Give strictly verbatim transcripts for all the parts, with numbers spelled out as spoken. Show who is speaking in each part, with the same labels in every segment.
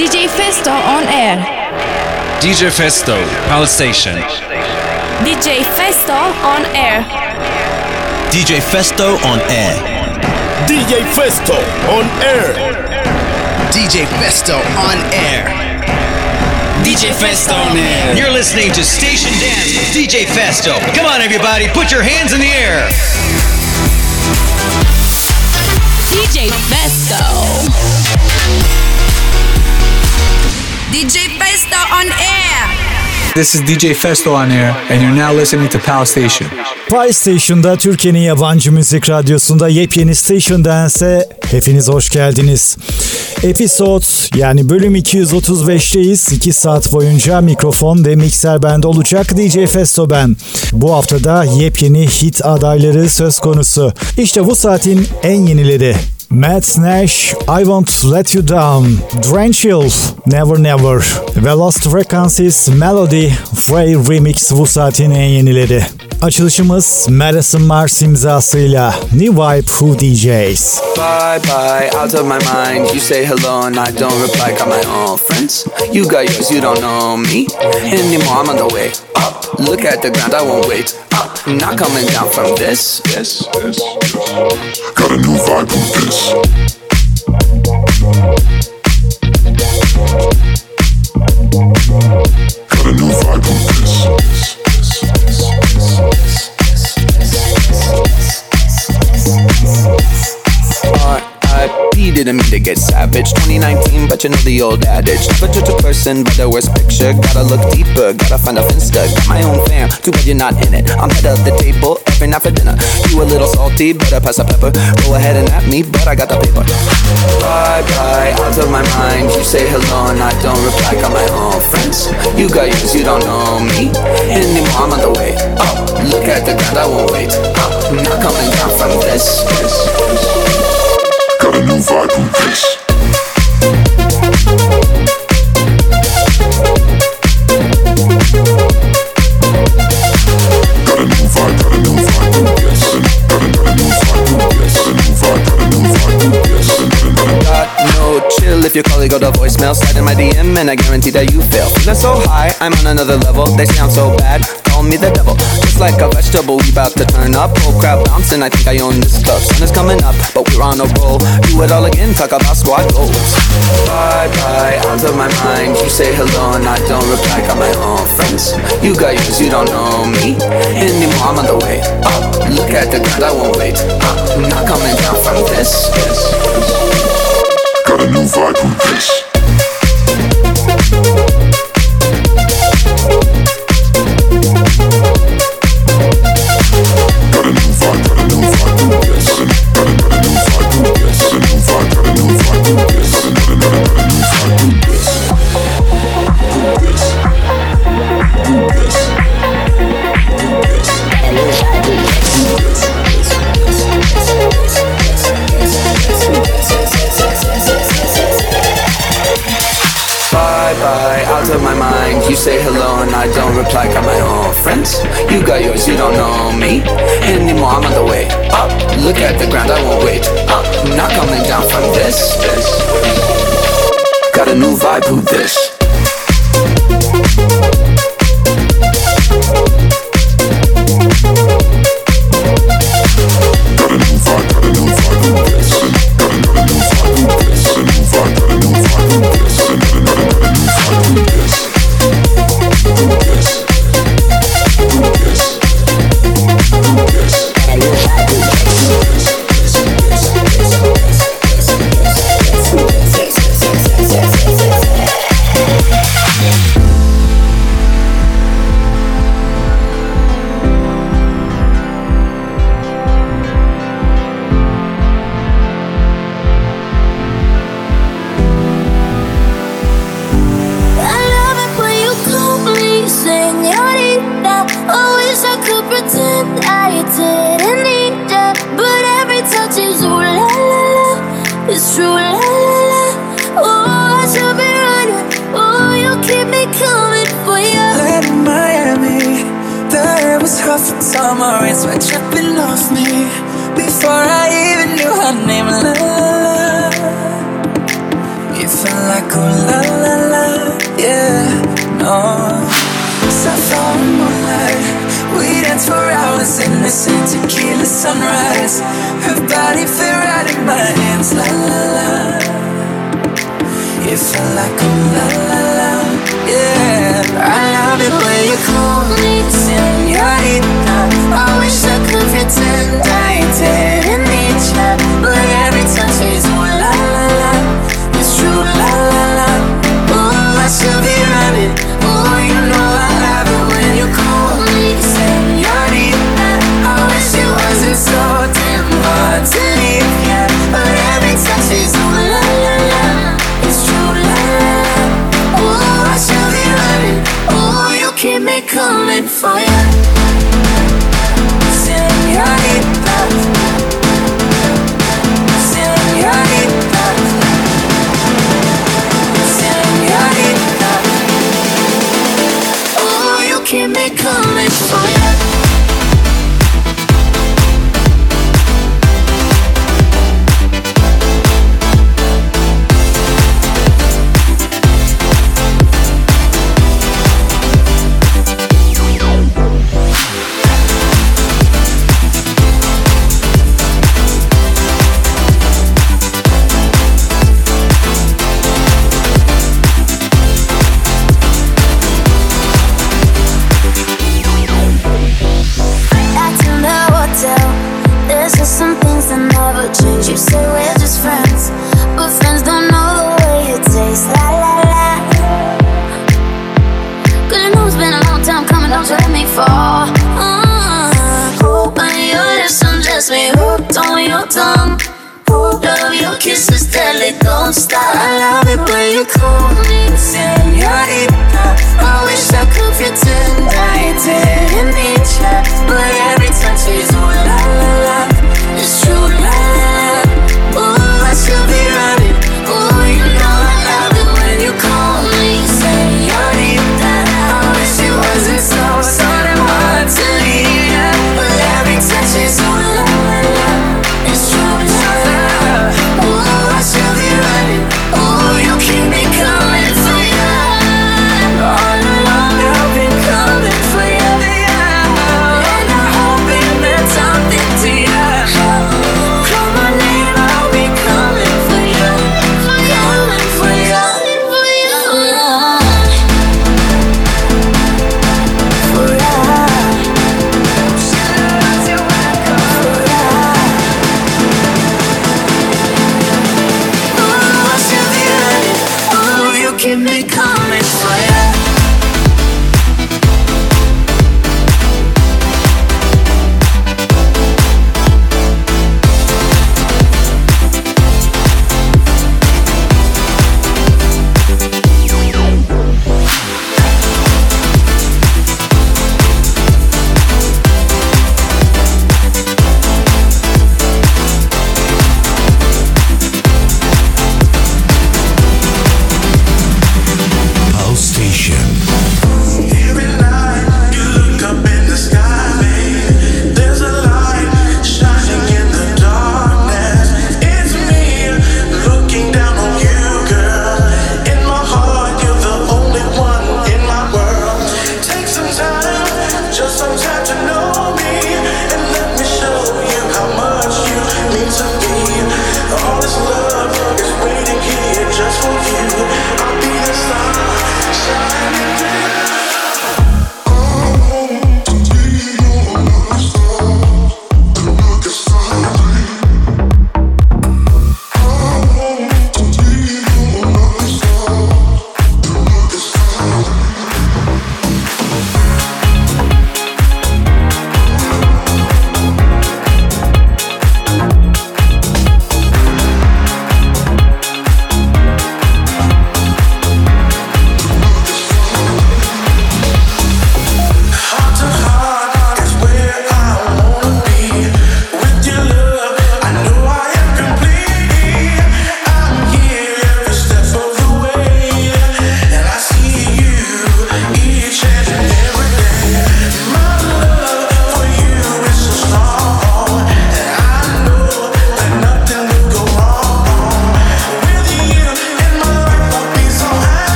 Speaker 1: D J Festo on air.
Speaker 2: D J Festo, Palace Station.
Speaker 1: D J Festo on air.
Speaker 3: D J Festo on air.
Speaker 4: D J Festo on air.
Speaker 3: D J Festo on air.
Speaker 5: D J Festo on air.
Speaker 6: You're listening to Station Dance with D J Festo. Come on, everybody, put your hands in the air.
Speaker 1: D J Festo. D J Festo on air.
Speaker 7: This is D J Festo on air and you're now listening to Pal Station.
Speaker 8: Pal Station'da Türkiye'nin yabancı müzik radyosunda yepyeni Station Dance'e hepiniz hoş geldiniz. Episode yani bölüm iki yüz otuz beşteyiz. iki saat boyunca mikrofon ve mikser bende olacak. D J Festo ben. Bu haftada yepyeni hit adayları söz konusu. İşte bu saatin en yenileri. Matt Nash, I Won't Let You Down, Drenchill, Never Never ve Lost Frequencies Melody, Frey Remix bu saatin en yenileri. Açılışımız Madison Mars imzasıyla New Vibe Who D Js.
Speaker 9: Bye bye, out of my mind. You say hello and I don't reply. Got my own friends. You got yours, you don't know me anymore. I'm on the way up. Look at the ground, I won't wait up. I'm not coming down from this. This, this, this.
Speaker 10: Got a new vibe with this. Got a new vibe with this.
Speaker 9: R I P didn't mean to get savage. twenty nineteen, but you know the old adage. Never judge a person by the worst picture. Gotta look deeper, gotta find a finsta. Got my own fam, too bad you're not in it. I'm head of the table every night for dinner. You a little salty, better pass a pepper. Go ahead and at me, but I got the paper. Bye bye, out of my mind. You say hello and I don't reply. Got my own friends. You got yours, you don't know me anymore. I'm on the way up. Look at the ground, I won't wait up. I'm not coming down from this. this, this.
Speaker 10: Got a new vibe with this. Got a new vibe, got a new vibe with this. Got a, got a new vibe with this. Got a new vibe, got a new vibe with this.
Speaker 9: Got no chill if your colleague go to voicemail. Slide in my D M and I guarantee that you fail. Feeling so high, I'm on another level. They sound so bad, call me the devil. Just like a vegetable, we bout to turn up. Whole crowd bouncing, I think I own this club. Sun is coming up, but we're on a roll. Do it all again, talk about squad goals. Bye bye, out of my mind. You say hello and I don't reply. Got my own friends. You got yours, you don't know me anymore. I'm on the way up. Look at the ground, I won't wait up. I'm not coming down from this. this, this.
Speaker 10: Got a new vibe with this. Got a new vibe, got a new vibe with this. Got a, got a new vibe with this. Got a new vibe, got a new vibe with this. Got a, got a, got a, got a new vibe with this. With this. With this.
Speaker 9: Bye bye, out of my mind. You say hello and I don't reply. Got my own friends. You got yours, you don't know me anymore. I'm on the way up. Look at the ground, I won't wait up. I'm not coming down from this. this. Got a new vibe with this.
Speaker 10: Got a new vibe, got a new vibe with this. Got a, got a new vibe with this. Got a new vibe, got a new vibe with this. Got a, got a, got a, got a new vibe with this. With this. With this. With this. Got a new vibe with this.
Speaker 11: It's true, la la la. Oh, I should be running. Oh, you keep me coming for you.
Speaker 12: Let in Miami, the air was hot for summer rain, sweat dripping off me before I even knew her name. La la la. It felt like oh la la. Paris and tequila sunrise. Her body fit right in my hands, la la la. It felt like a la la la, yeah. I love it when you call me señorita. I wish I could pretend I didn't need ya, but every touch is ooh la la la. It's true la la la. Oh, I should be running. Oh, you know I love it when you call me señorita. I wish it wasn't so damn hard to leave ya, but every touch is ooh la la la. It's true la la la. Oh, I should be running. Oh, you keep me coming for ya, señorita, señorita, señorita. Oh, you keep me coming for ya. You say we're just friends, but friends don't know the way it tastes. La la la. Cause you know it's been a long time coming, don't you let me fall. uh, Open your lips, undress me, hooked on your tongue. Love your kisses, deadly, don't stop. I love it when you call me señorita. I wish I could pretend I didn't need ya, but every touch is ooh la la la. It's true la la la. Oh, I should be running. Oh, you know I love it when you call me señorita. I wish it wasn't so, so damn hard to leave ya, but every touch is ooh la la la. It's true la la la. Oh, I should be running. Oh, you keep me coming for ya. All along I've been coming for ya, and I hope it meant something to ya. Call my name, I'll be coming for ya, coming for ya, for ya, for ya. Oh, I should be running. Oh, you keep me coming for ya.
Speaker 13: Pulse Station.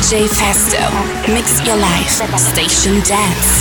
Speaker 1: D J Festo. Mix your life. Station Dance.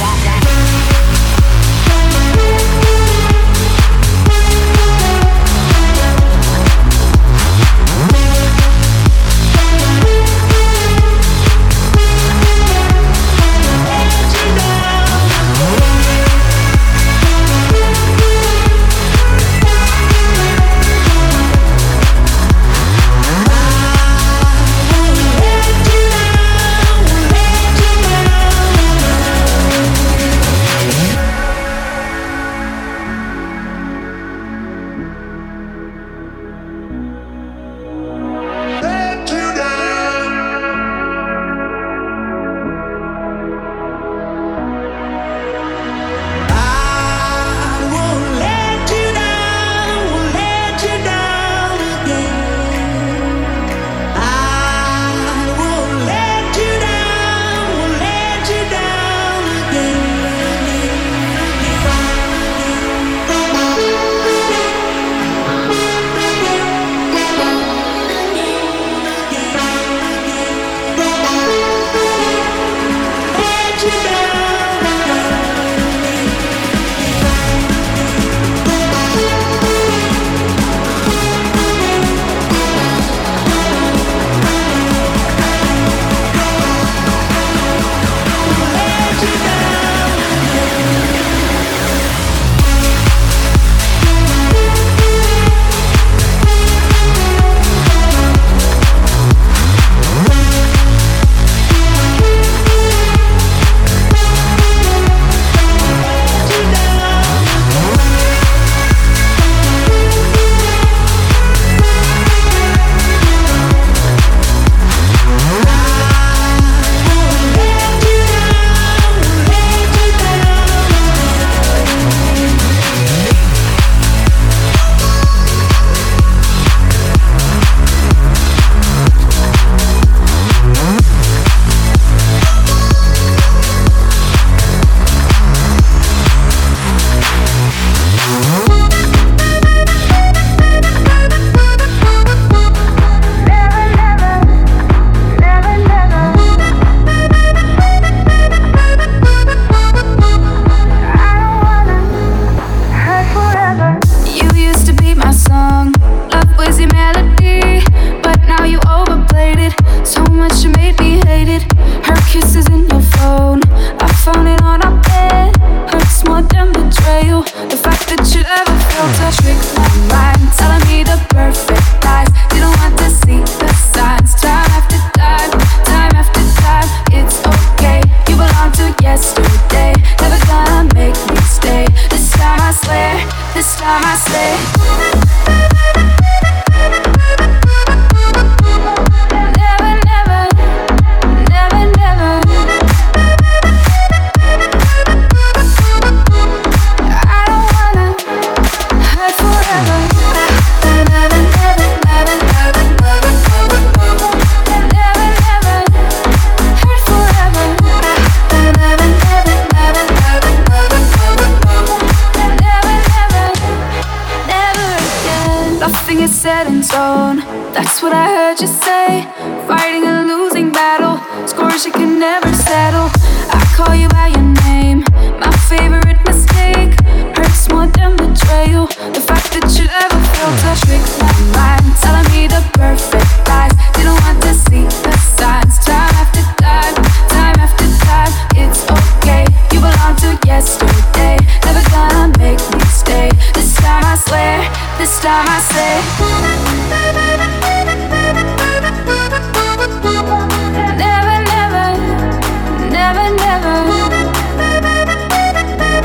Speaker 11: Never, never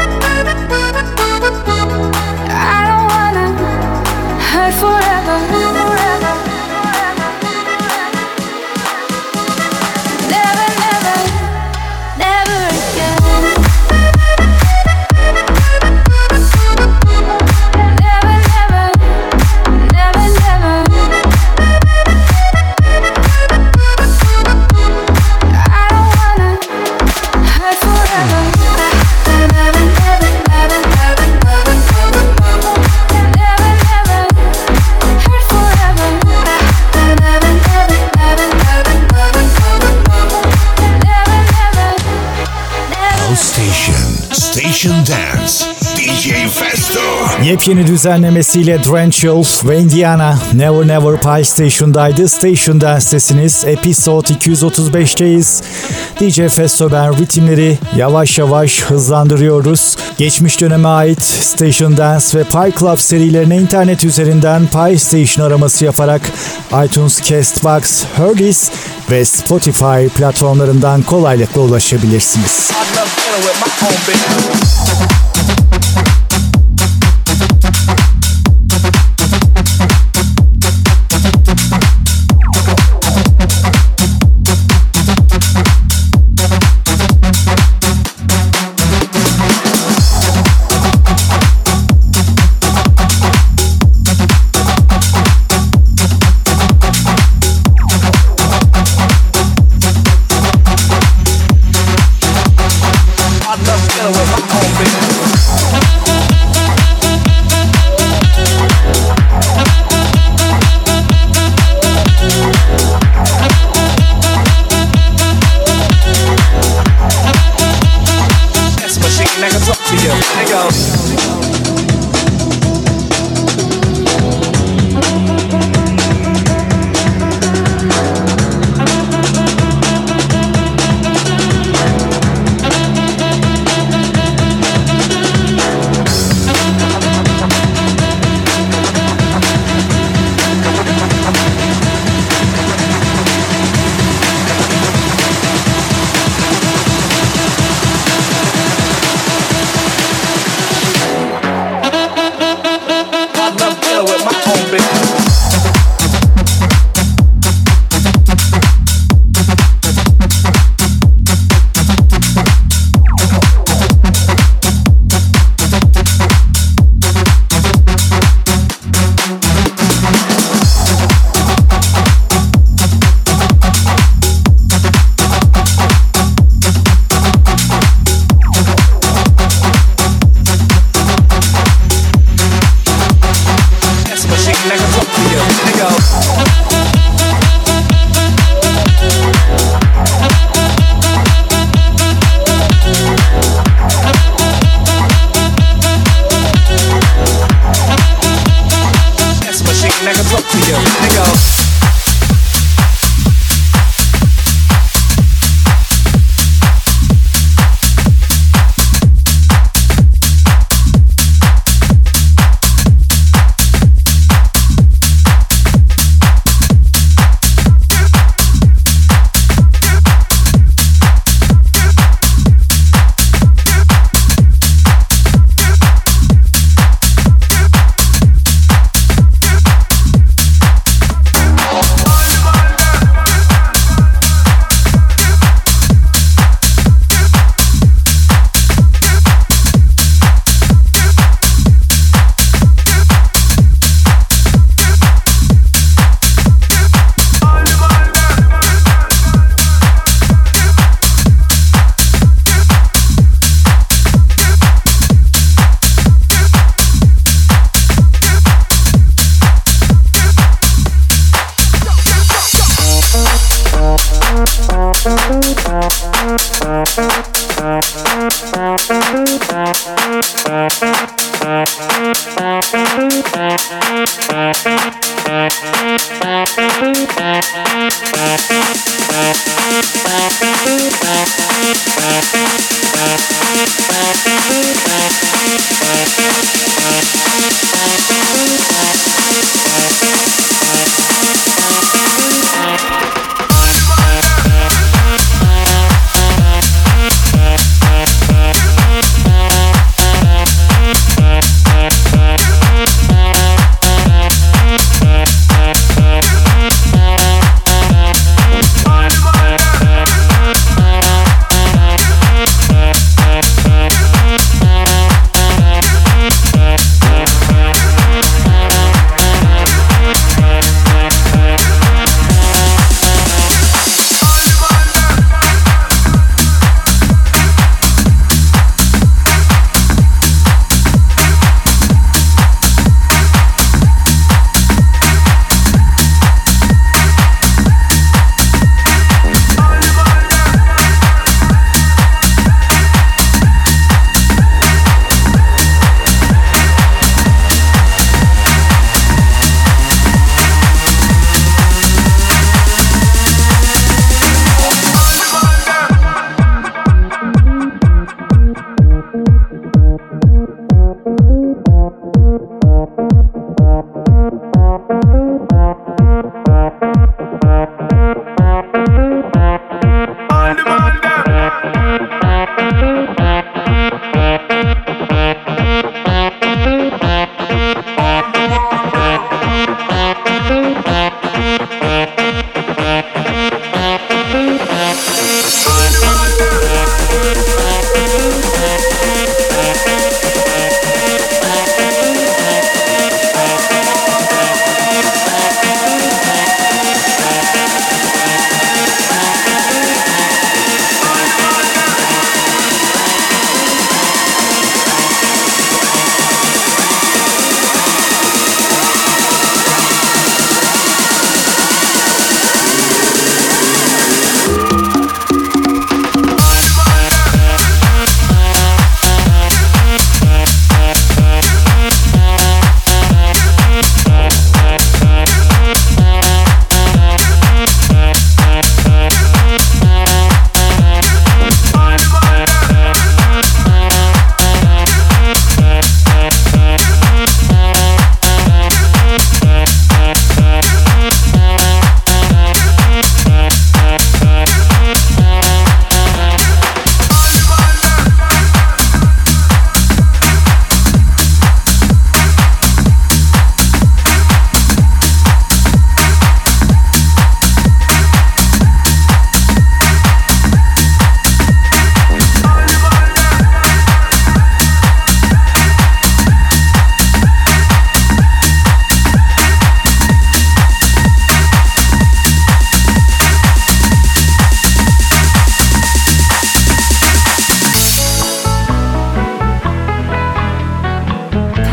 Speaker 4: Dance. D J Festo.
Speaker 8: Yepyeni düzenlemesiyle Drenchel ve Indiana Never Never Pile Station'daydı. Station Dance'tesiniz. Episode iki yüz otuz beşteyiz. D J Festo ben, ritimleri yavaş yavaş hızlandırıyoruz. Geçmiş döneme ait Station Dance ve Pile Club serilerine internet üzerinden Pile Station araması yaparak iTunes, Castbox, Heardis ve Spotify platformlarından kolaylıkla ulaşabilirsiniz.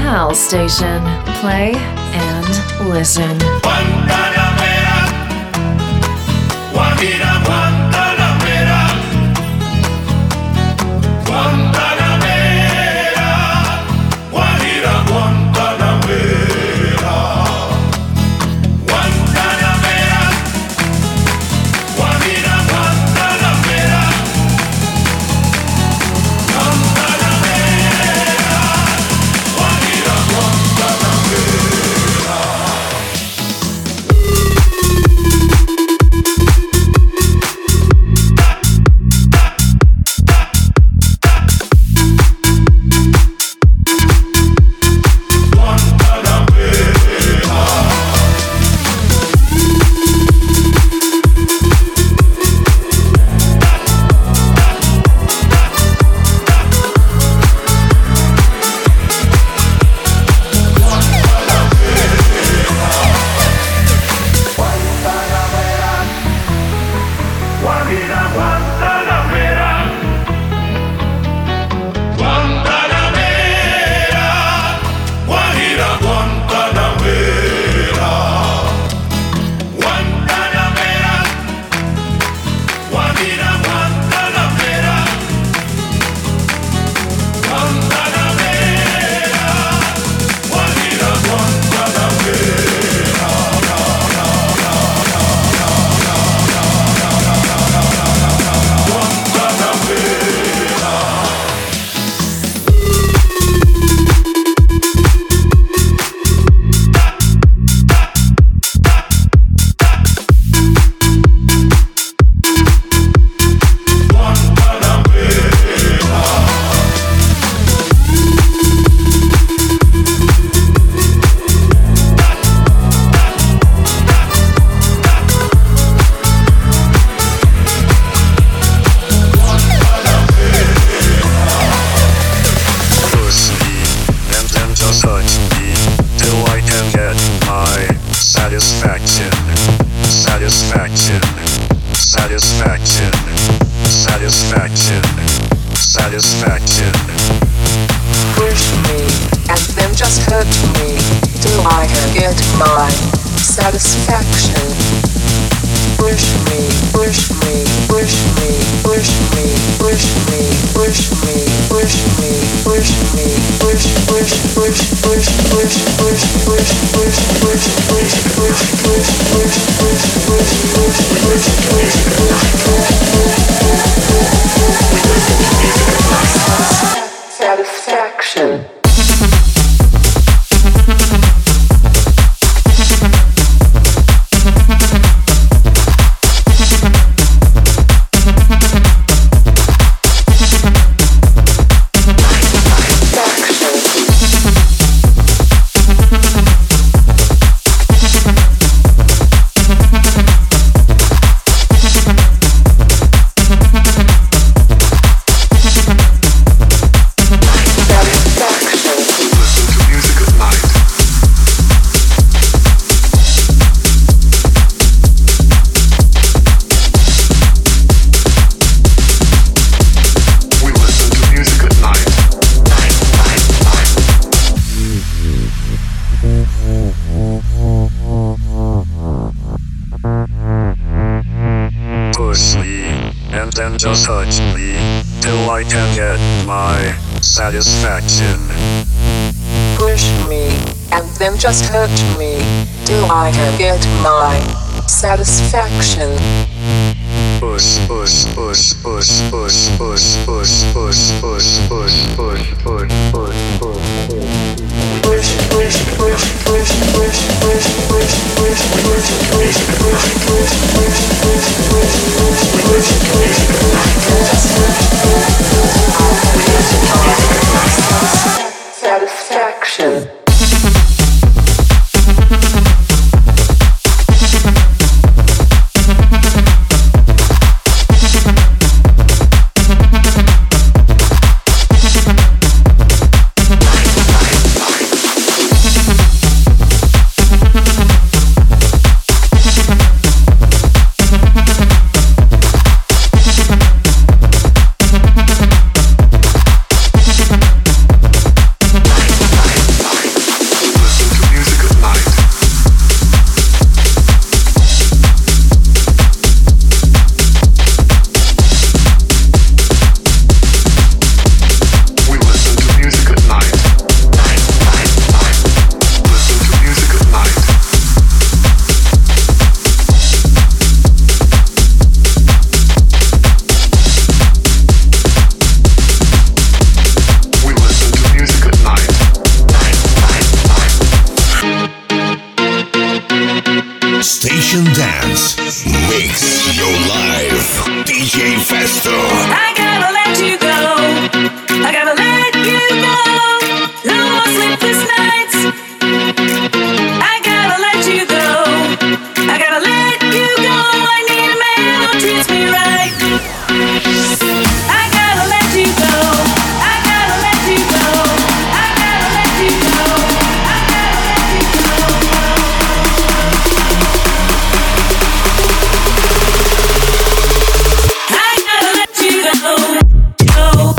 Speaker 13: Pal Station. Play and listen.
Speaker 4: Guantanamera, Guajira, Guantanamera, Guantanamera, Guajira, Guantanamera, Guantanamera, Guajira, Guantanamera, Guantanamera, Guajira, Guantanamera.
Speaker 13: Satisfaction.
Speaker 10: Just touch me till I can get my satisfaction.
Speaker 13: Push me and then just hurt me till I can get my satisfaction.
Speaker 10: Push, push, push, push, push, push, push, push, push, push, push, push, push, push.
Speaker 13: Push, push, push, push, push, push, push, push, push, push, push, push, push, push, push, push, push, satisfaction.
Speaker 10: Station Dance. Mix your life. D J Festo.
Speaker 11: I gotta let you go. I gotta let you go. No more sleepless nights. I gotta let you go. I gotta let you go. I need a man who treats me right. I gotta let you go. I gotta let you go. I gotta let you go. I gotta let you go. I gotta let you go. Go.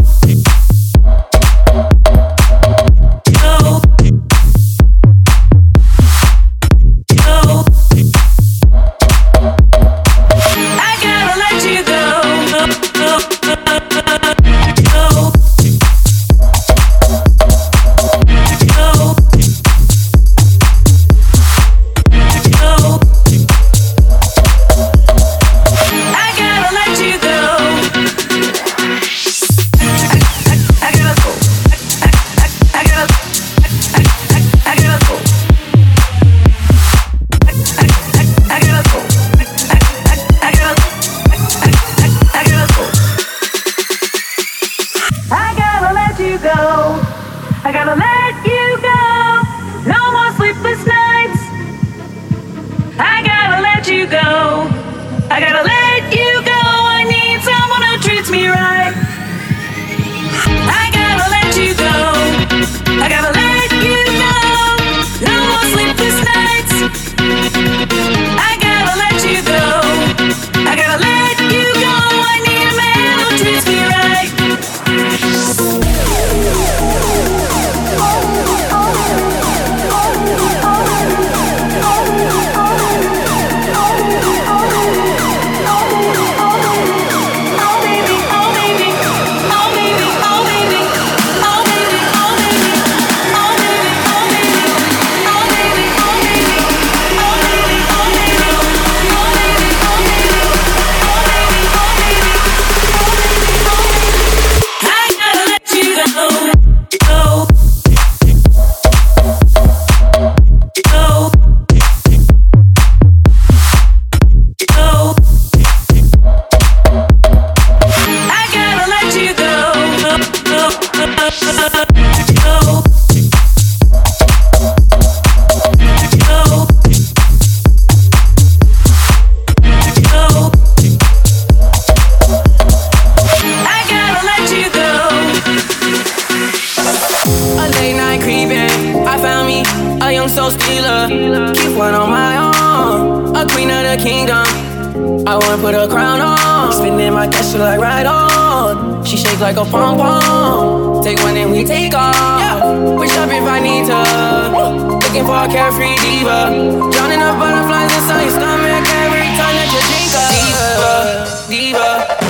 Speaker 14: Like a pom pom, take one and we take off. Yeah. Wish up if I need to. Looking for a carefree diva, drowning up butterflies inside your stomach every time that you drink up. Diva, diva.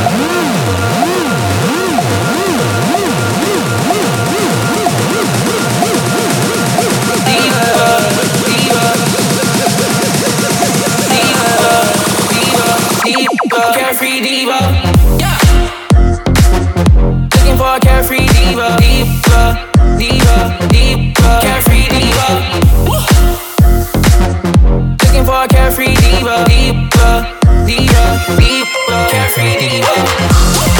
Speaker 14: Carefree diva, yeah. Looking for a carefree diva, diva, diva, diva, carefree diva. Looking for a carefree diva, diva, diva, diva, carefree diva.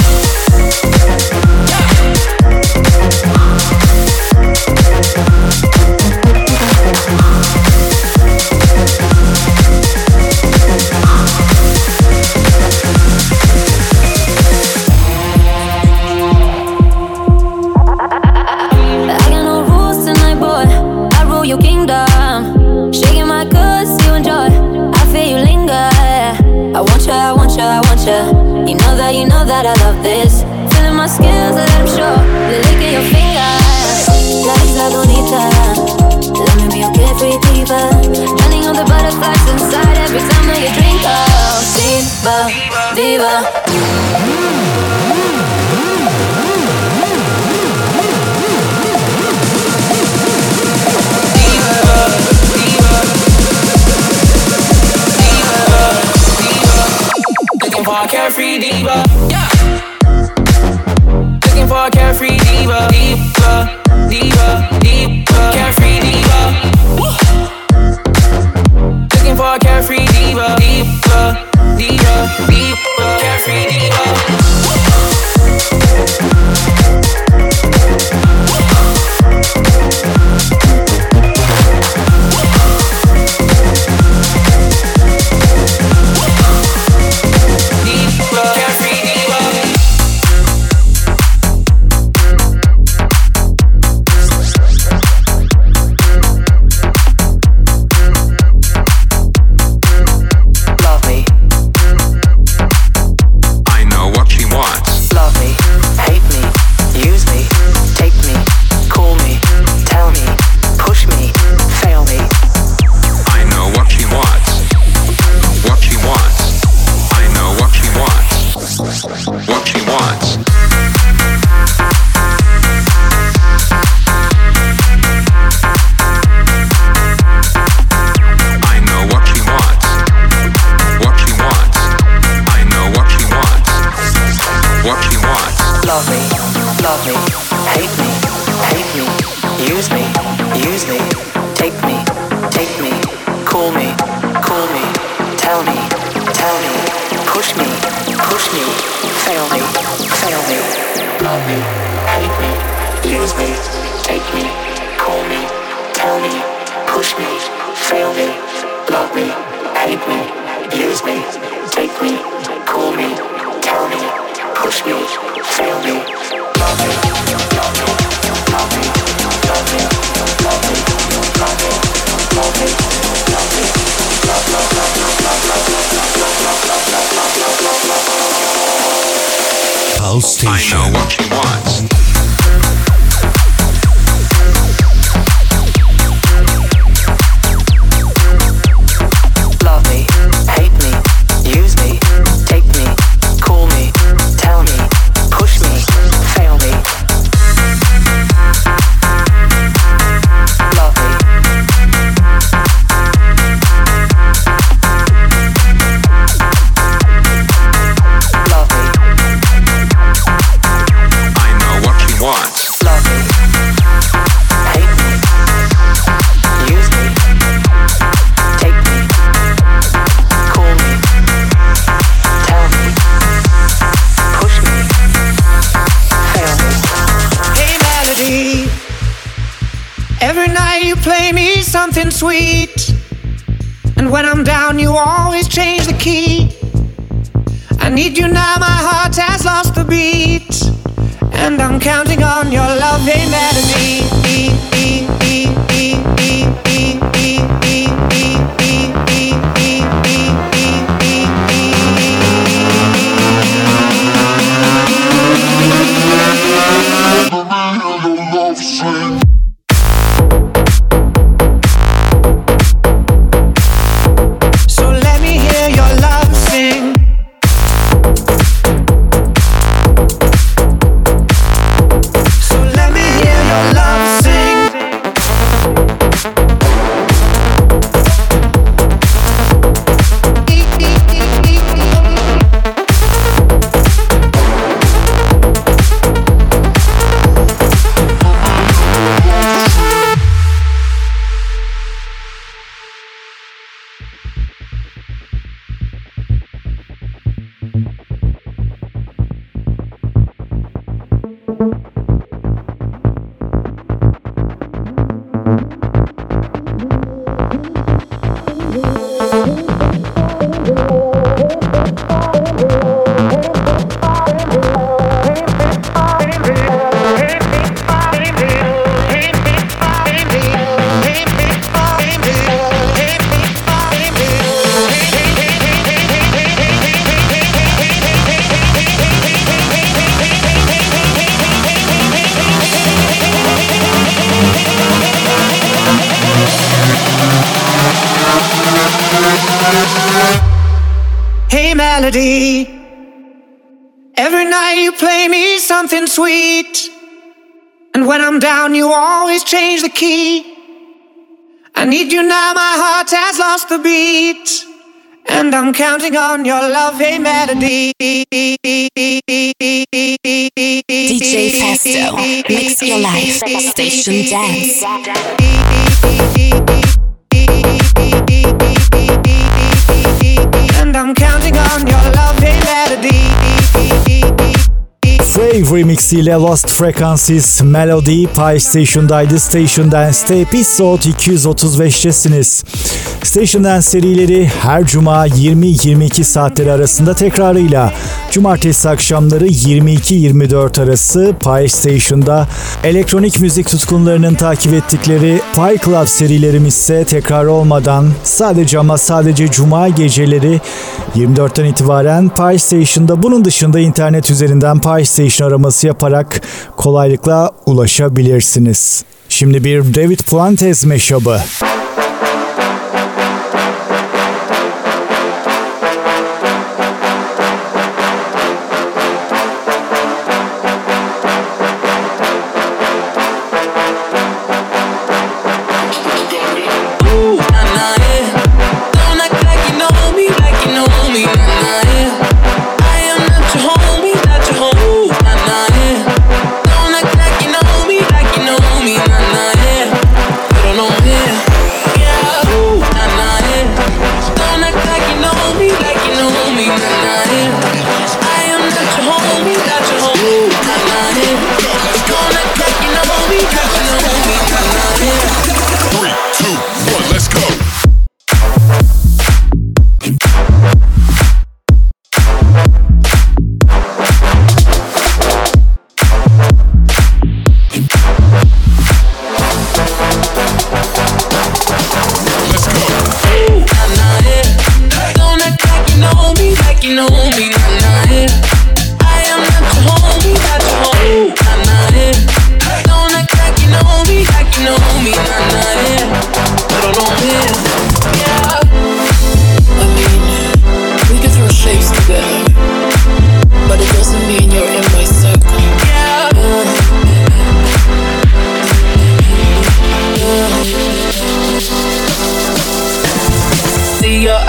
Speaker 14: You know that, you know that I love this. Feeling my skills, let them show. The lick of your fingers. La isla bonita. Let me be your carefree diva. Running on the butterflies inside every time that you drink up. Diva, diva. For a carefree diva, yeah. Looking for a carefree diva, diva, diva, diva, carefree diva. Woo. Looking for a carefree diva.
Speaker 15: use me, use me, take me, take me, call me, call me, tell me, tell me, push me, push me, fail me, fail me, love me, hate me, use me, take me, call me, tell me, push me, fail me, love me, hate me, use me, take me, call me, tell me, push me, fail me, love me, love me, love me, love me, love me, love me, love me, love me, love, love, love, love, love, love, love, love, love, love, love, love, love, love.
Speaker 16: Pulse Station. I know what she wants.
Speaker 17: Something sweet, and when I'm down you always change the key. I need you now, my heart has lost the beat, and I'm counting on your love, hey melody. Melody. Every night you play me something sweet, and when I'm down you always change the key. I need you now, my heart has lost the beat, and I'm counting on your love, hey melody.
Speaker 1: D J Festo, mix your life, station dance.
Speaker 17: And I'm counting on your love, hey melody.
Speaker 8: Frave Remix ile Lost Frequencies Melody Pi Station'daydı. Station Dance'te episode iki yüz otuz beştesiniz. Station Dance serileri her cuma yirmi yirmi iki saatleri arasında tekrarıyla cumartesi akşamları yirmi iki yirmi dört arası Pi Station'da, elektronik müzik tutkunlarının takip ettikleri Pi Club serilerimiz ise tekrar olmadan sadece ama sadece cuma geceleri yirmi dörtten itibaren Pi Station'da. Bunun dışında internet üzerinden Pi Station araması yaparak kolaylıkla ulaşabilirsiniz. Şimdi bir David Fuentes meşabı.
Speaker 18: Nah, yeah.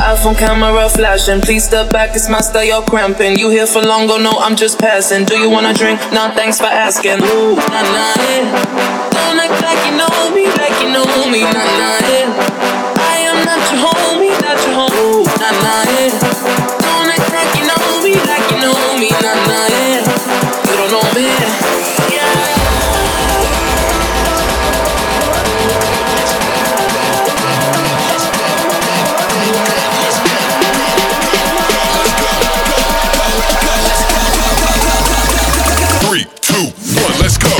Speaker 18: iPhone camera flashing. Please step back, it's my style, you're cramping. You here for long, go no, I'm just passing. Do you wanna drink? Nah, thanks for asking. Ooh, nah, nah, yeah. Don't act like you know me, like you know me, nah, nah, yeah. I am not your homie, not your homie, ooh, nah, nah, yeah. Don't act like you know me, like you know me, nah, nah, yeah. You don't know me, yeah.
Speaker 10: Three, two, one, let's go.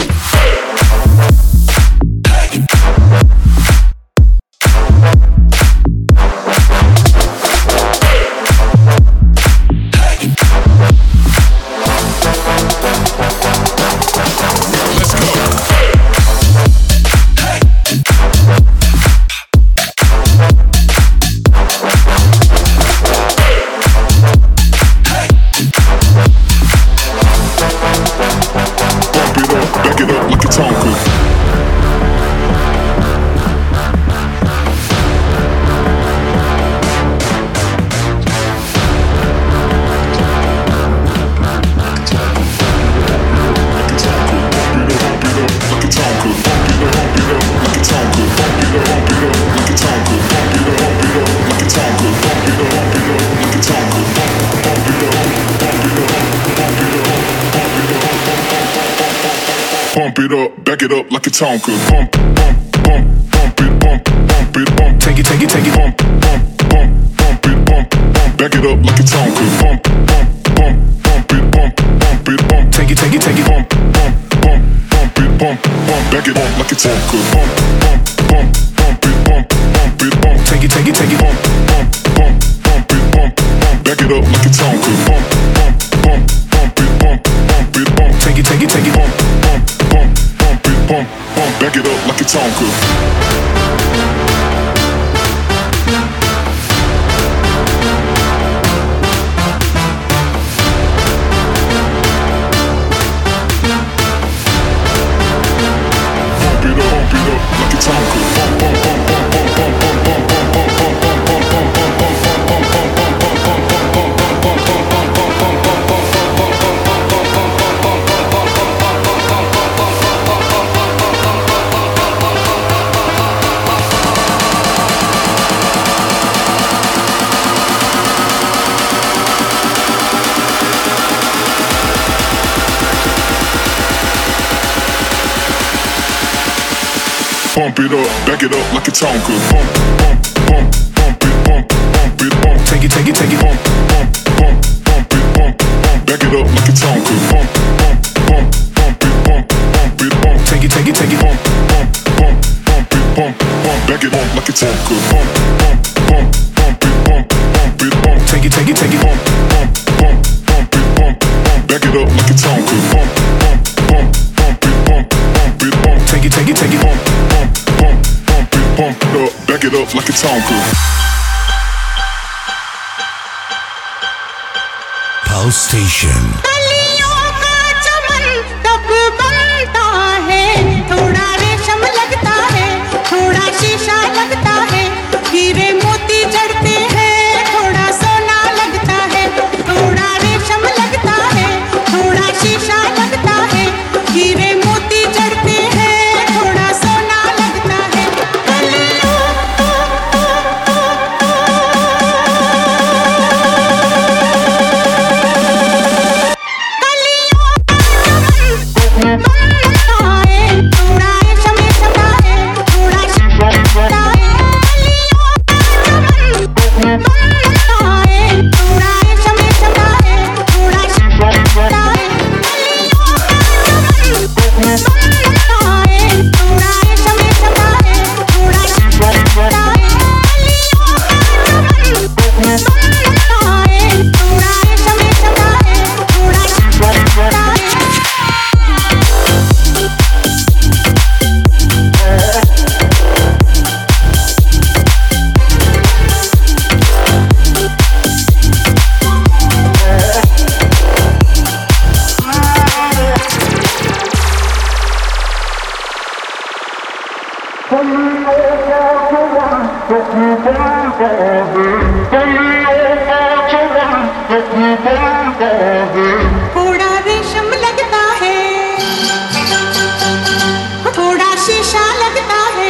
Speaker 10: Pump it up, back it up like a Tonka. Pump, pump, pump, pump it, pump, pump it, pump. Take it, take it, take it. Pump, pump, pump, pump it, pump, pump. Back it up like a Tonka. Pump, pump, pump, pump it, pump, pump it, pump. Take it, take it, take it. Pump, pump, pump, pump it, pump, pump. Back it up like a Tonka. Pump, pump, pump, pump it, pump, pump it, pump. Take it, take it, take it. Pump, pump, pump, pump it, pump, pump. Back it up like a Tonka. Pump, pump, pump, pump it, pump, pump it, pump. Take it, take it, take it. Pump, pump, pump, pump it, pump, pump. Back it up like a Tonka. Pump it up, back it up like a Tonka. Pump, pump, pump, pump it, pump, pump it, pump. Take it, take it, take it. Pump, pump, pump, pump it, pump, pump. Back it up like a Tonka. Pump, pump, pump, pump it, pump, pump it, pump. Take it, take it, take it. Pump, pump, pump, pump it, pump, pump. Back it up like a Tonka. Pump, pump, pump, pump it, pump, pump it, pump. Take it, take it, take it. Pump, pump, pump, pump it, pump, pump. Back it up like a Tonka. Pump, pump, pump, pump it, pump, pump it, pump. Take it, take it, take it. Pump, pump, pump, pump it, pump it up, back it up like a Tonka.
Speaker 19: Pulse Station.
Speaker 4: Thank you.
Speaker 17: थोड़ा रेशम लगता है, थोड़ा शीशा लगता है।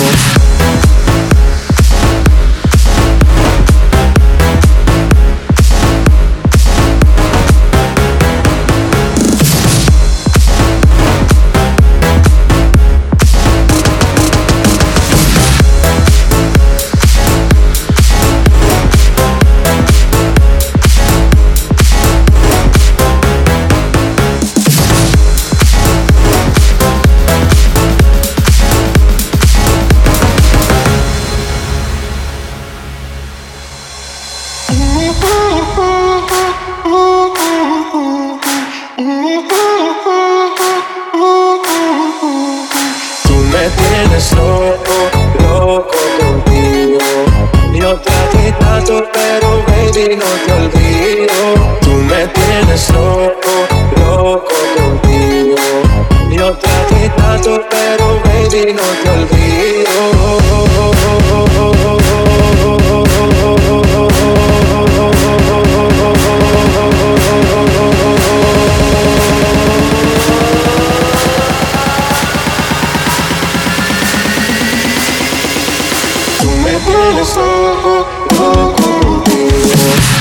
Speaker 20: tienes loco, loco contigo. Yo traté tanto, pero baby no te olvido. Tú me tienes loco, loco contigo. Yo traté tanto, pero baby no te olvido. Tú me tienes loco, loco contigo.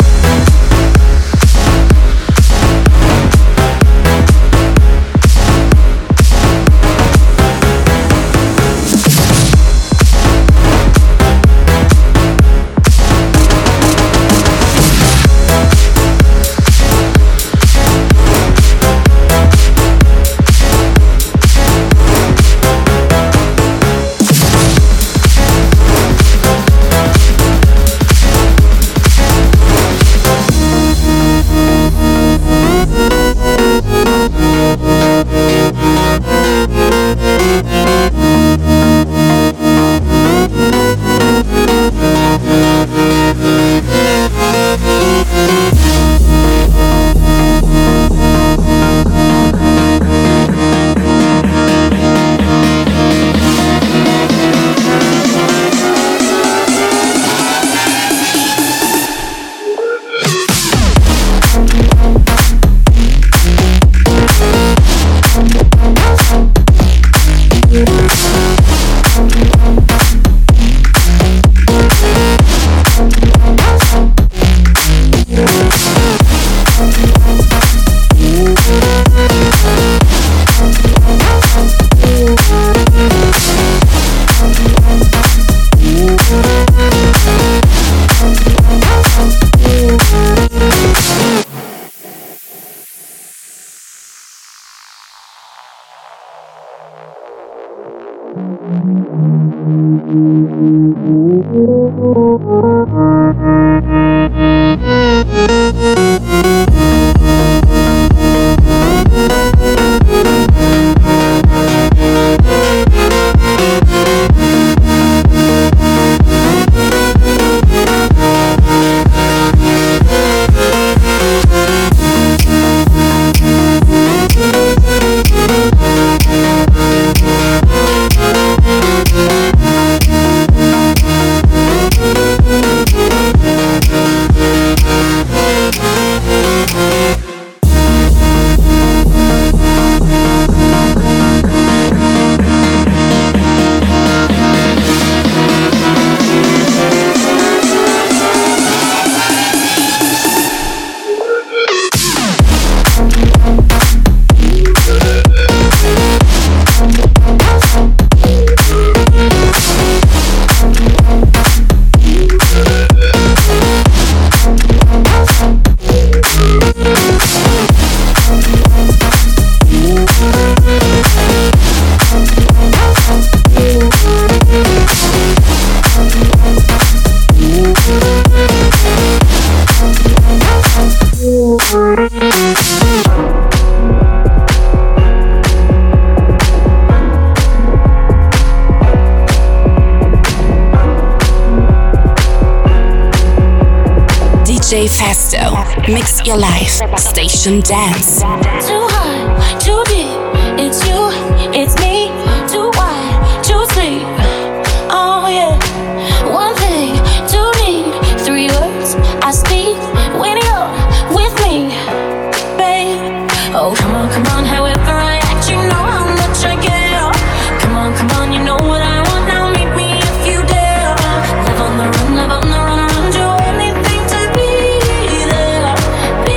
Speaker 1: D J Festo, mix your life, station dance.
Speaker 12: Too high, too deep, it's you, it's me. Too wide, too sleep, oh yeah. One thing, two need, three words I speak when you're with me, babe. Oh come on, come on, however I act, you know how much I care. Come on, come on, you know what I want, now meet me if you dare. Live on the run, live on the run, run, do anything to be there, be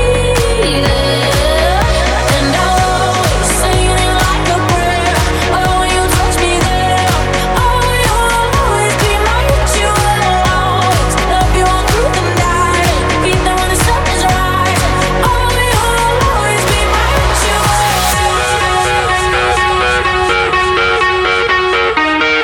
Speaker 12: there. And I'll always say it like a prayer. Oh, you touch me there. Oh, you'll always be my ritual. Always love you all through the night. Be there when the sun is right. Oh, you'll always be my ritual.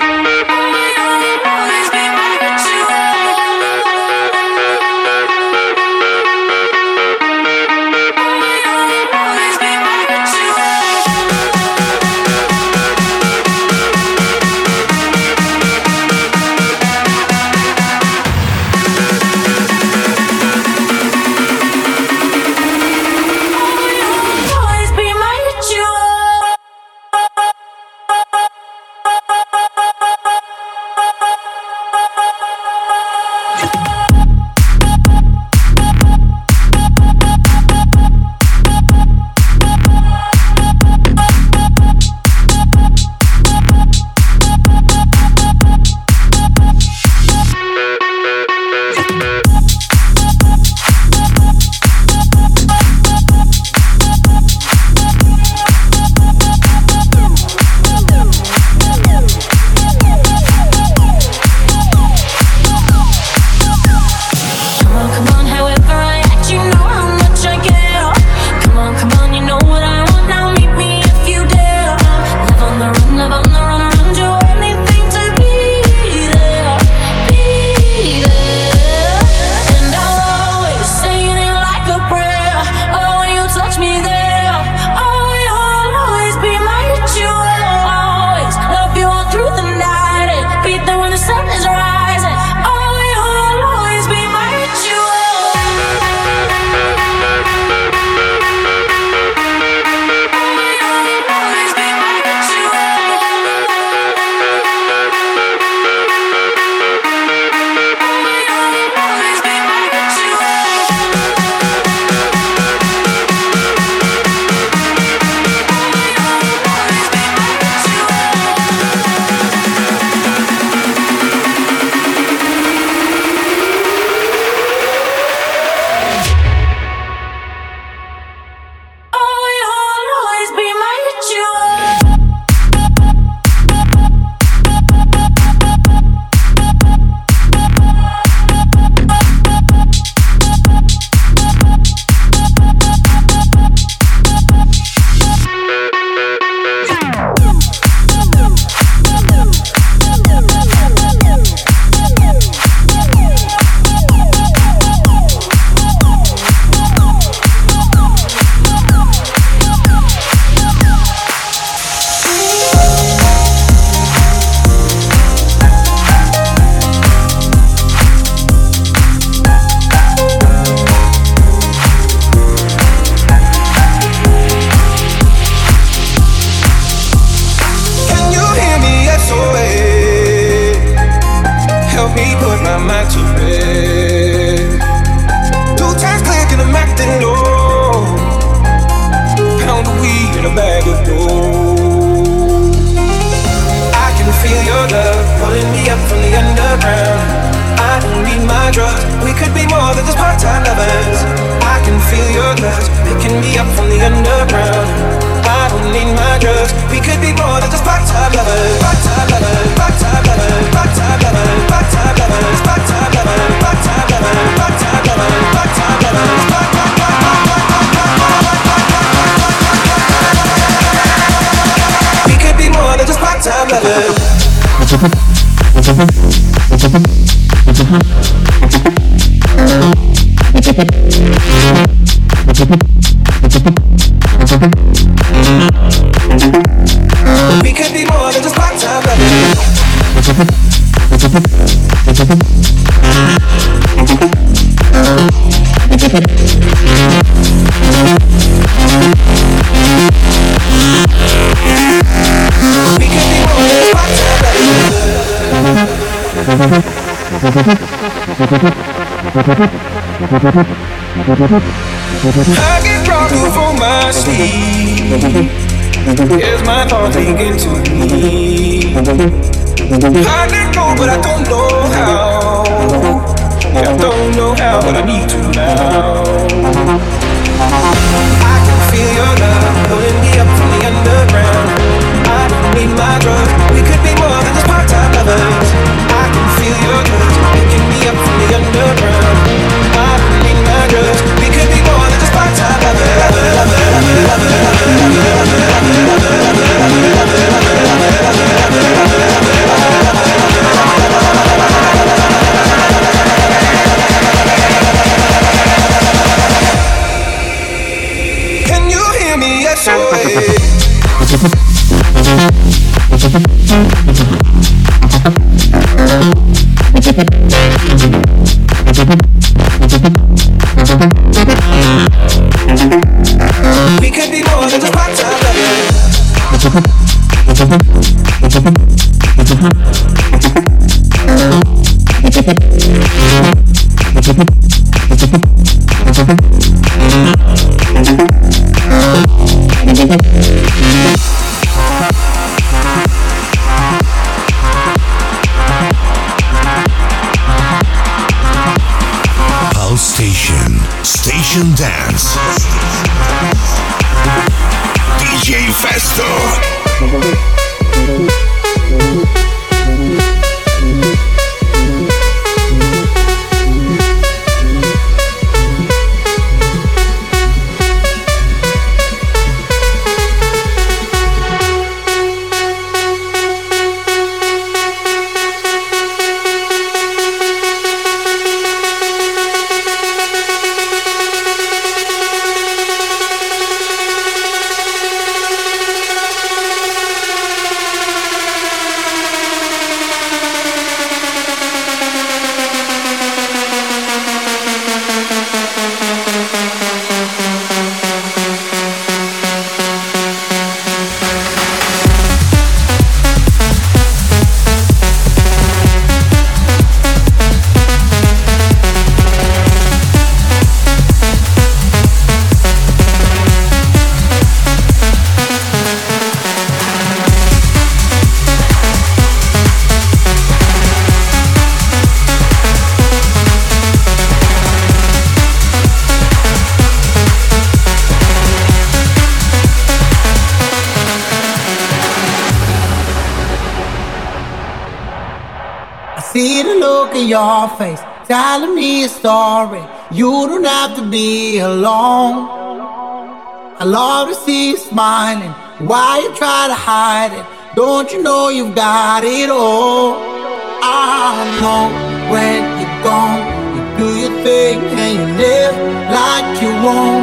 Speaker 17: drugs. We could be more than just part-time lovers. Part-time lovers, part-time lovers, part-time lovers, part-time lovers, part-time lovers, part-time lovers, part-time lovers, part-time lovers, part-time lovers. We could be more than just part-time lovers. We could be more than just part-time lovers. We could be more than just part-time lovers. I get drunk before my sleep. Here's my thoughts begin to me. I let go, but I don't know how. Yeah, I don't know how, but I need to now. I can feel your love pulling me up from the underground. I don't need my drugs. We could be more than just part-time lovers. I can feel your touch picking me up from the underground. I don't need my drugs. We could be more than just part-time lovers. Can you hear me? Yes, we could be more than just part-time lovers.
Speaker 19: Pulse Station. Station Dance. D J Festo.
Speaker 21: See the look in your face, telling me a story. You don't have to be alone. I love to see you smiling. Why you try to hide it? Don't you know you've got it all? I know when you're gone, you do your thing and you live like you won't.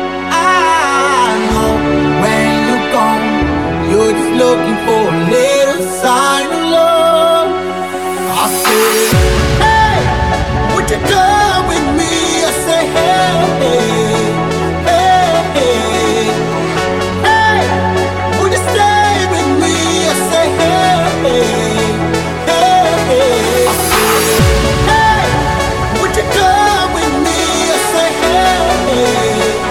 Speaker 21: I know when you're gone, you're just looking for a little sign of love. I say, hey, would you come with me? I say, hey, hey, hey, hey, would you stay with me? I say, hey, hey, hey, I say, hey, would you come with me? I say, hey,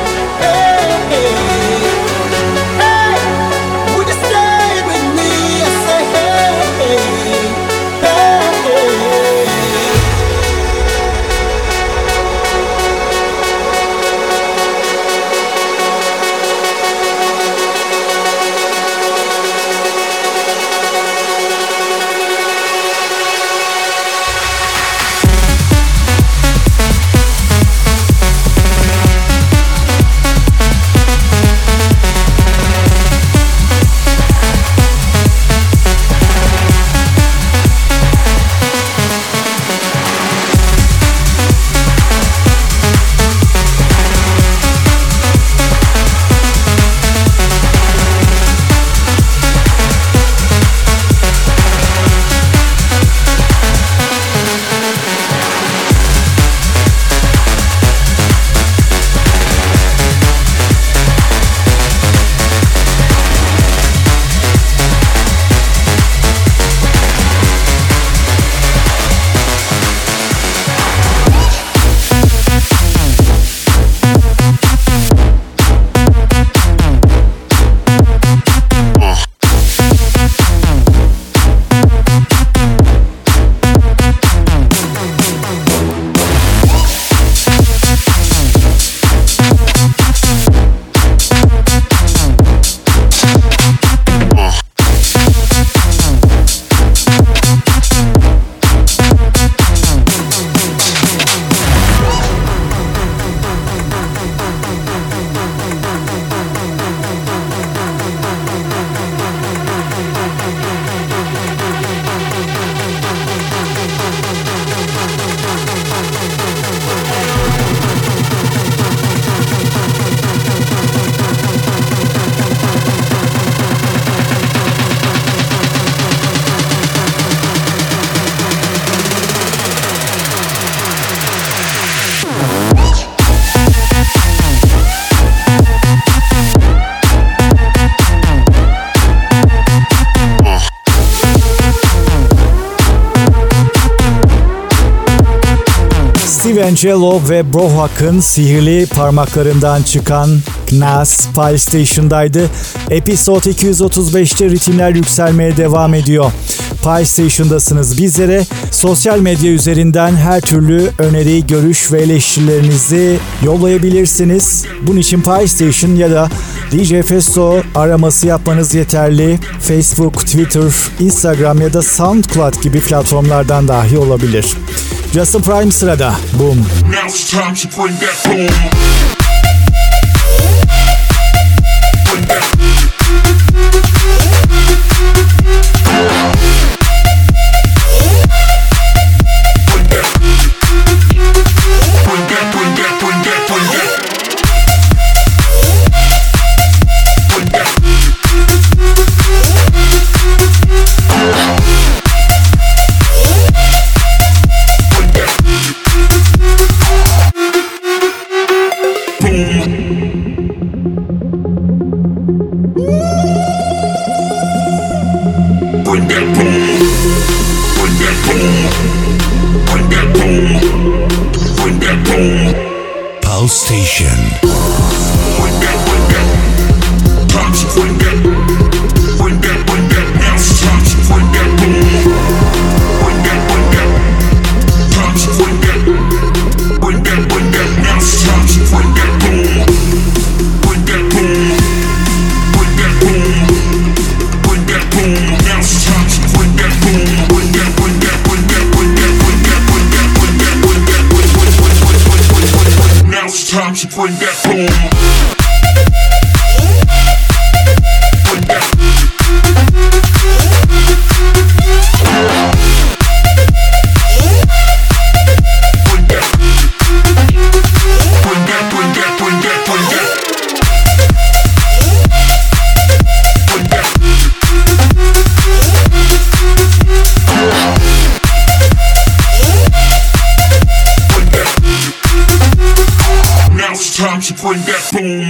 Speaker 8: Steve Angelo ve Brohawk'ın sihirli parmaklarından çıkan Nas Pile Station'daydı. Episode iki yüz otuz beşte ritimler yükselmeye devam ediyor. Pile Station'dasınız. Bizlere sosyal medya üzerinden her türlü öneri, görüş ve eleştirilerinizi yollayabilirsiniz. Bunun için Pile Station ya da D J Festo araması yapmanız yeterli. Facebook, Twitter, Instagram ya da SoundCloud gibi platformlardan dahi olabilir. Justin Prime sırada. Boom.
Speaker 10: Now it's time to bring that boom. Bring that.
Speaker 19: Pulse Station.
Speaker 10: Bring that, bring that. Time to bring that. Bring that, bring that. Now it's time to bring that boom. Bring that, bring that. Time to bring that. Bring that, bring that. Now it's time to bring that boom. Bring that boom. Bring that boom. Bring that boom. Now it's time to bring that boom. Bring that, bring that, bring that, bring that, bring that, bring that, bring that, bring that, bring that, bring that. Now it's time to bring that boom. Time to bring that boom.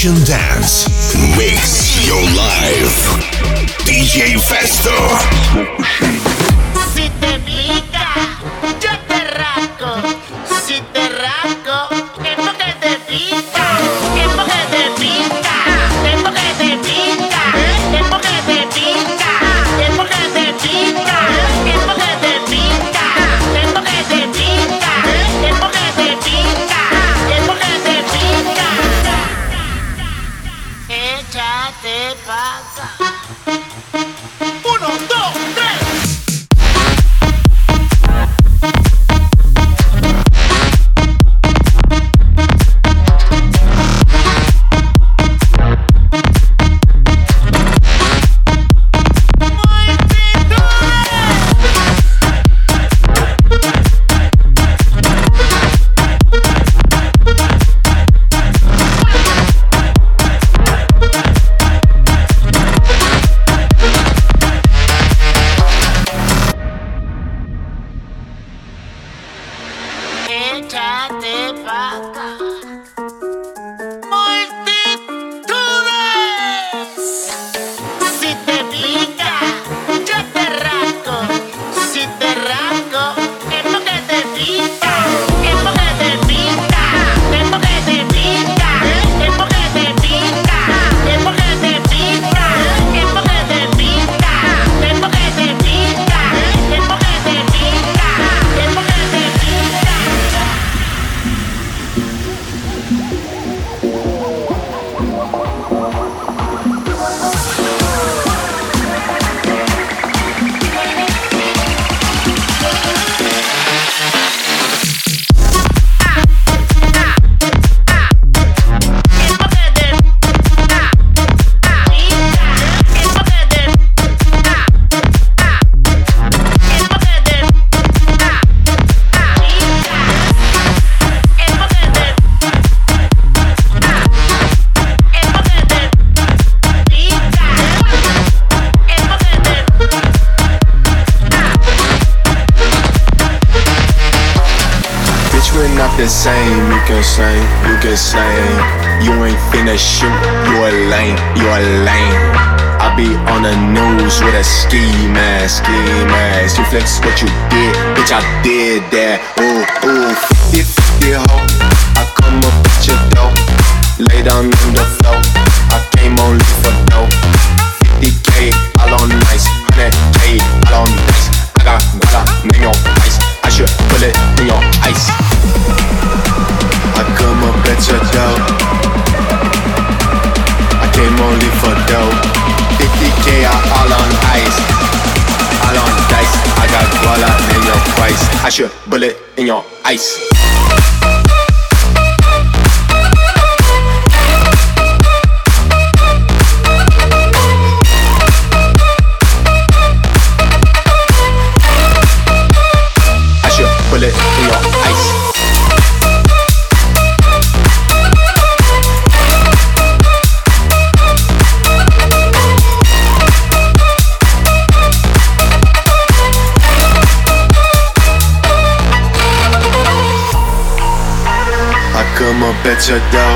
Speaker 19: Station Dance. Mix your life. D J Festo.
Speaker 2: Si te pica, yo te rasco. Si te rasco, es porque te pica. Es porque te pica. Es porque te pica. Es porque te pica. Es porque te pica. Es porque te pica. Es porque te pica. Es porque te pica. Es porque te pica. Échate pa' acá. Uno, dos, tres. Échate pa' acá. Multitudes. Si te pica, yo te rasco. Si te rasco, es porque te pica. Es porque te pica. Es porque te pica. Es porque te pica. Es porque te pica. Es porque te pica. Es porque te pica. Es porque te pica. Es porque te pica.
Speaker 20: The same, you can sing, you can sing. You ain't finna shoot, you a lame, you a lame. I be on the news with a ski mask, ski mask. You flex what you did, bitch, I did that. Ooh, ooh, fifty fifty ho. I come up at your door, lay down on the floor. I came only for dough. fifty K, all on nice, one hundred K, all on nice. I got guala, name your ice. I should put it in your ice. I come up at your door. I came only for dough. fifty K all on ice, all on dice. I got guala in your price. I should bullet in your ice. I should bullet in your ice. Come up at your door.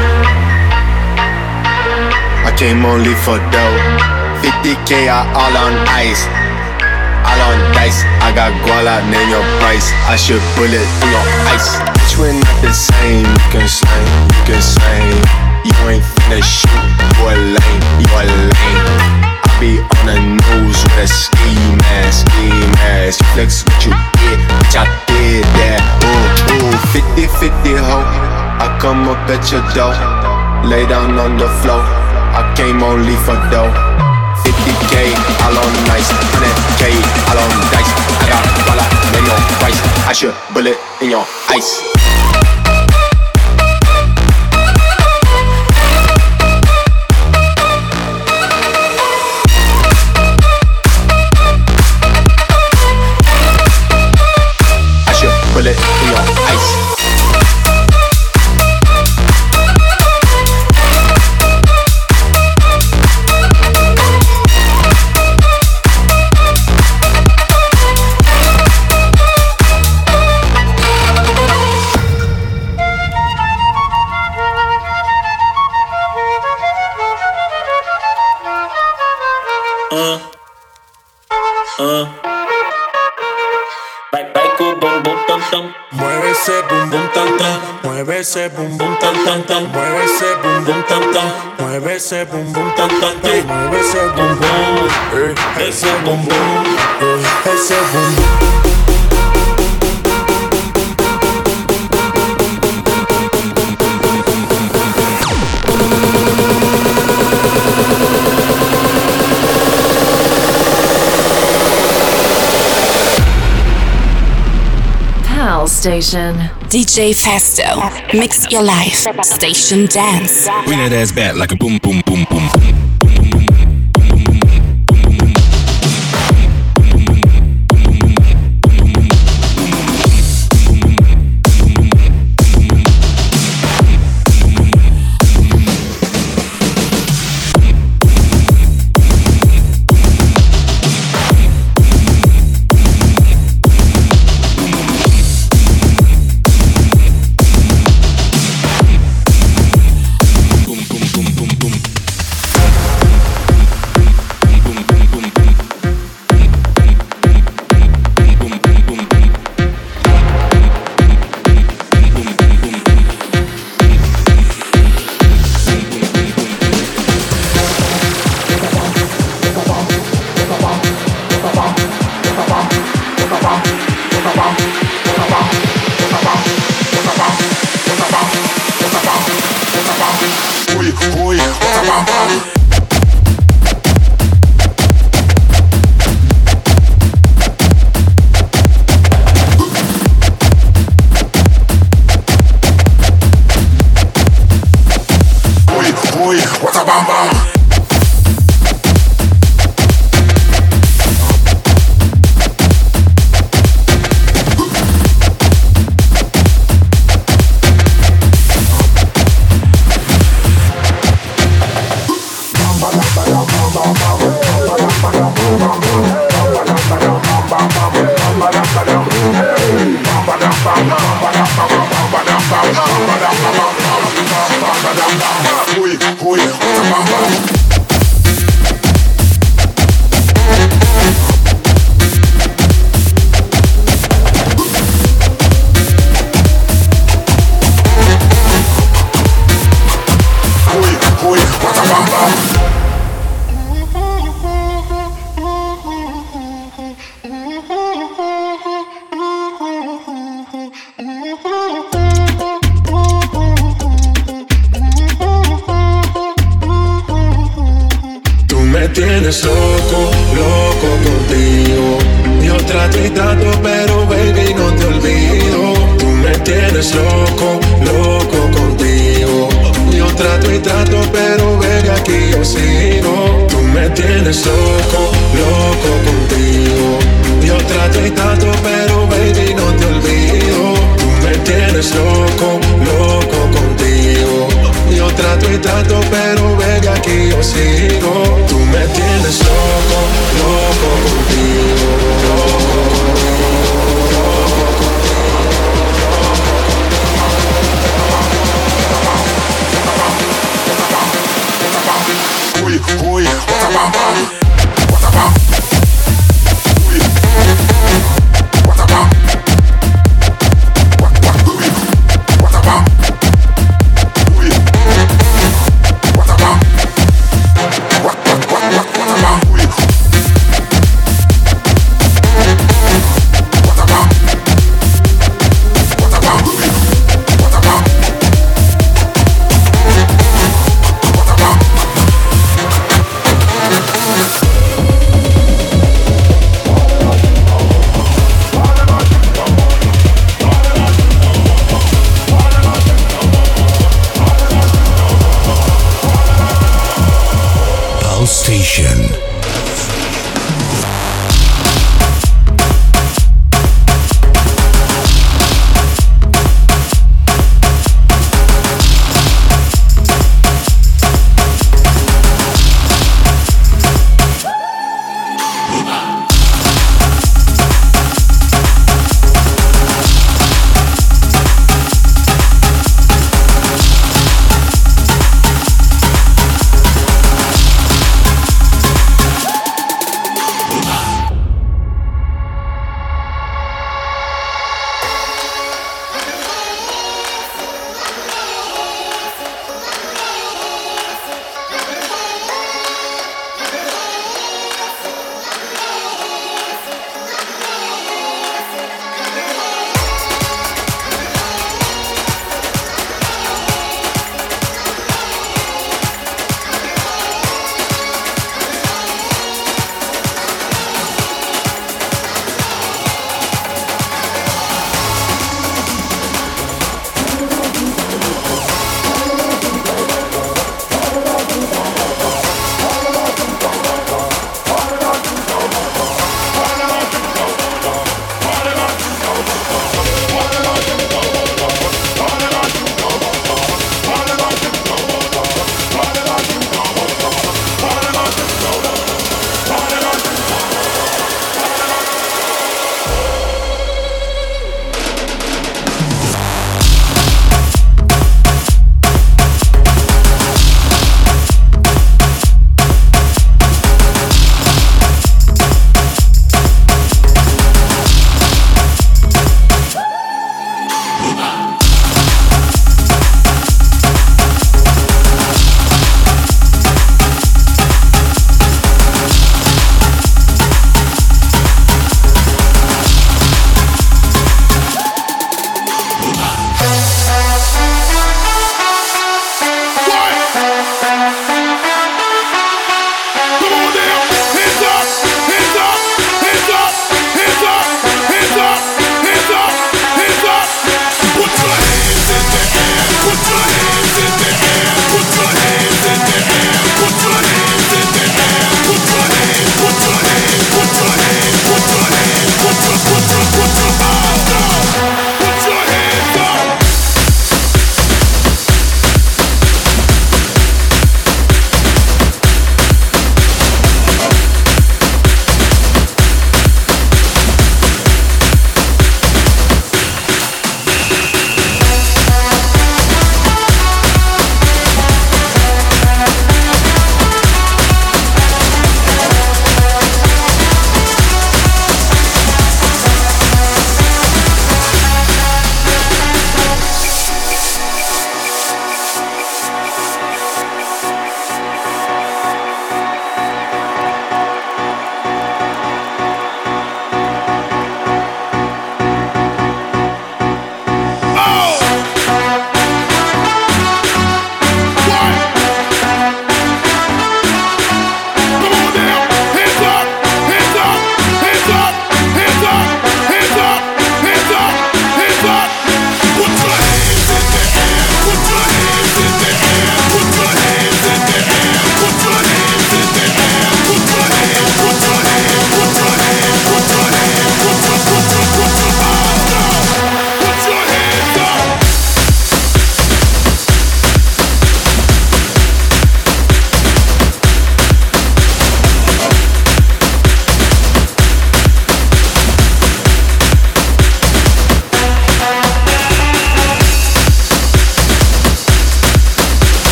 Speaker 20: I came only for dough. fifty K all on ice, all on dice. I got guala, name your price. I should bullet in your ice. Bitch, we're not the same. You can slang, you can slang. You ain't finna shoot, you a lame, you a lame. I be on the news with a ski mask, ski mask. You flex what you did, bitch, I did that. Ooh, ooh, fifty fifty ho. I come up at your door, lay down on the floor. I came only for dough. fifty K, all on nice, one hundred K, all on dice. I got guala, name your price. I should bullet in your ice. I should bullet in your ice. ese bum bum tan tan tan, mueve ese bum bum tan tan, mueve ese bum bum tan tan tan, mueve ese bum bum, eh, ese bum bum, eh, ese bum bum.
Speaker 3: Station.
Speaker 1: D J Festo, mix your life. Station dance.
Speaker 5: Bring that ass back like a boom, boom, boom, boom.
Speaker 20: Tienes loco, loco contigo. Yo trato y trato, pero baby no te olvido. Tú me tienes loco, loco contigo. Yo trato y trato, pero baby aquí yo sigo. Tú me tienes loco, loco contigo. Yo trato y trato, pero baby no te olvido. Tú me tienes loco, loco contigo. Yo trato y trato, pero baby aquí yo sigo. Tú me tienes loco, loco contigo, loco contigo, loco contigo. Uy, uy, what a bam bam, what a bam. Uy, what a bam. What what uy, what a bam. Uy, what a bam. What what what what what a bam. Uy, what a bam. What a bam. Uy, what a bam. What a bam.
Speaker 19: Pulse Station.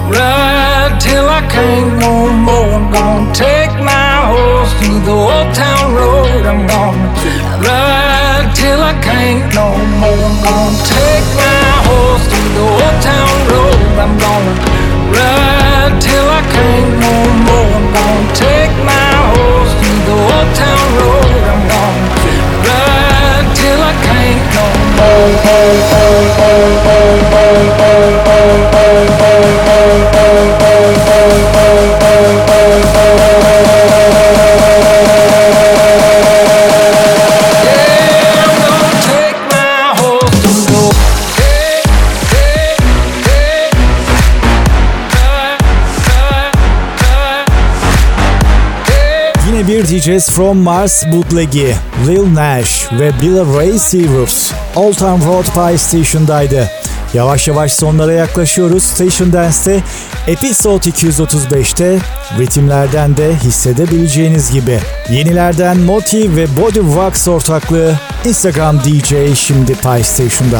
Speaker 6: ride till I can't no more. I'm gonna take my horse through the old town road. I'm gonna ride till I can't no more. I'm gonna take my horse through the old town road. I'm gonna ride till I can't no more. I'm gonna take my horse through the old town road. I'm gonna ride till I can't no
Speaker 8: Bir D Js from Mars bootleg'i Lil Nash ve Billy Ray Cyrus Old Town Road Pie Station'daydı. Yavaş yavaş sonlara yaklaşıyoruz. Station Dance'te Episode iki yüz otuz beşte ritimlerden de hissedebileceğiniz gibi. Yenilerden Moti ve Body Wax ortaklığı Instagram D J şimdi Pie Station'da.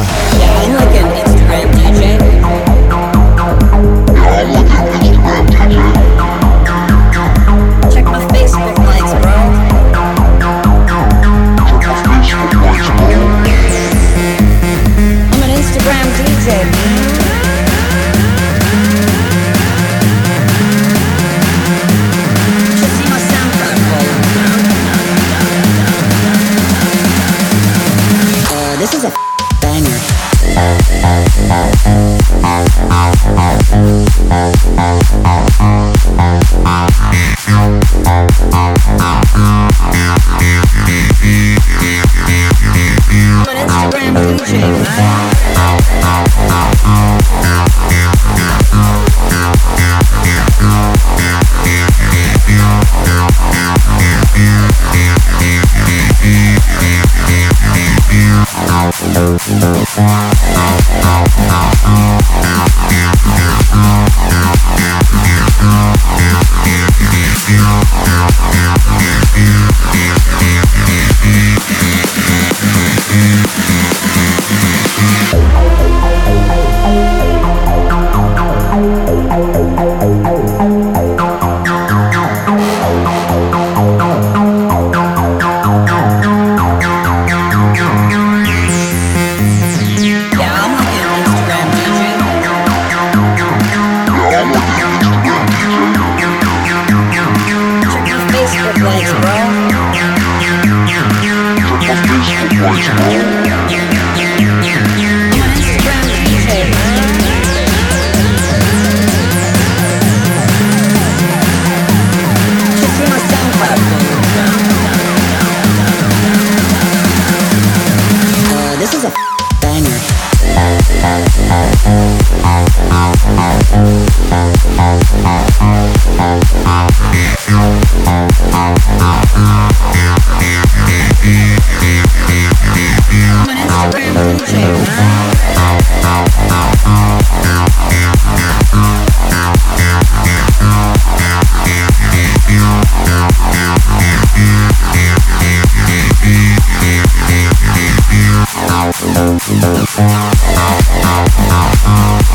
Speaker 22: Oh,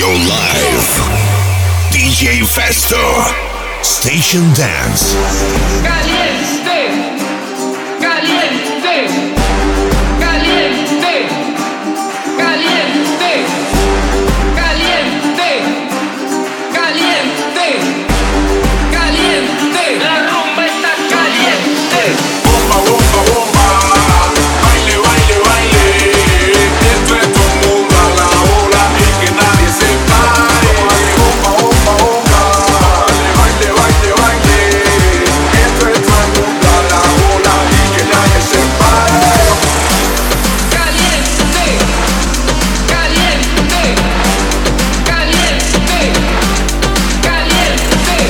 Speaker 19: your life. D J Festo, Station Dance.
Speaker 6: Caliente, caliente, caliente, caliente, caliente, caliente, caliente. La rumba está caliente.
Speaker 4: Bomba, bomba, bomba. Baile, baile, baile. Esto es todo el mundo a la ola y que nadie se pare. Bomba, bomba, bomba. Baile, baile, baile. Esto es todo el mundo a la ola y que nadie se pare.
Speaker 6: Caliente, caliente, caliente, caliente,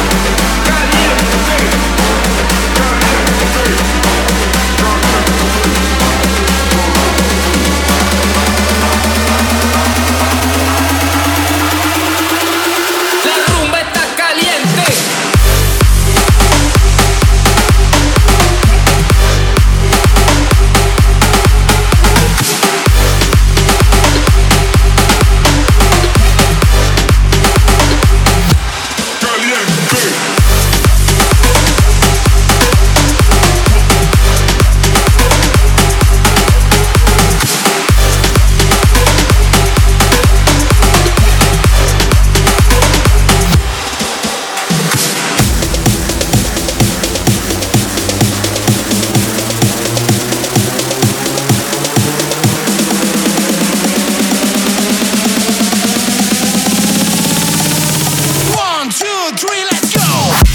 Speaker 6: La rumba está caliente. One, two, three, let's go.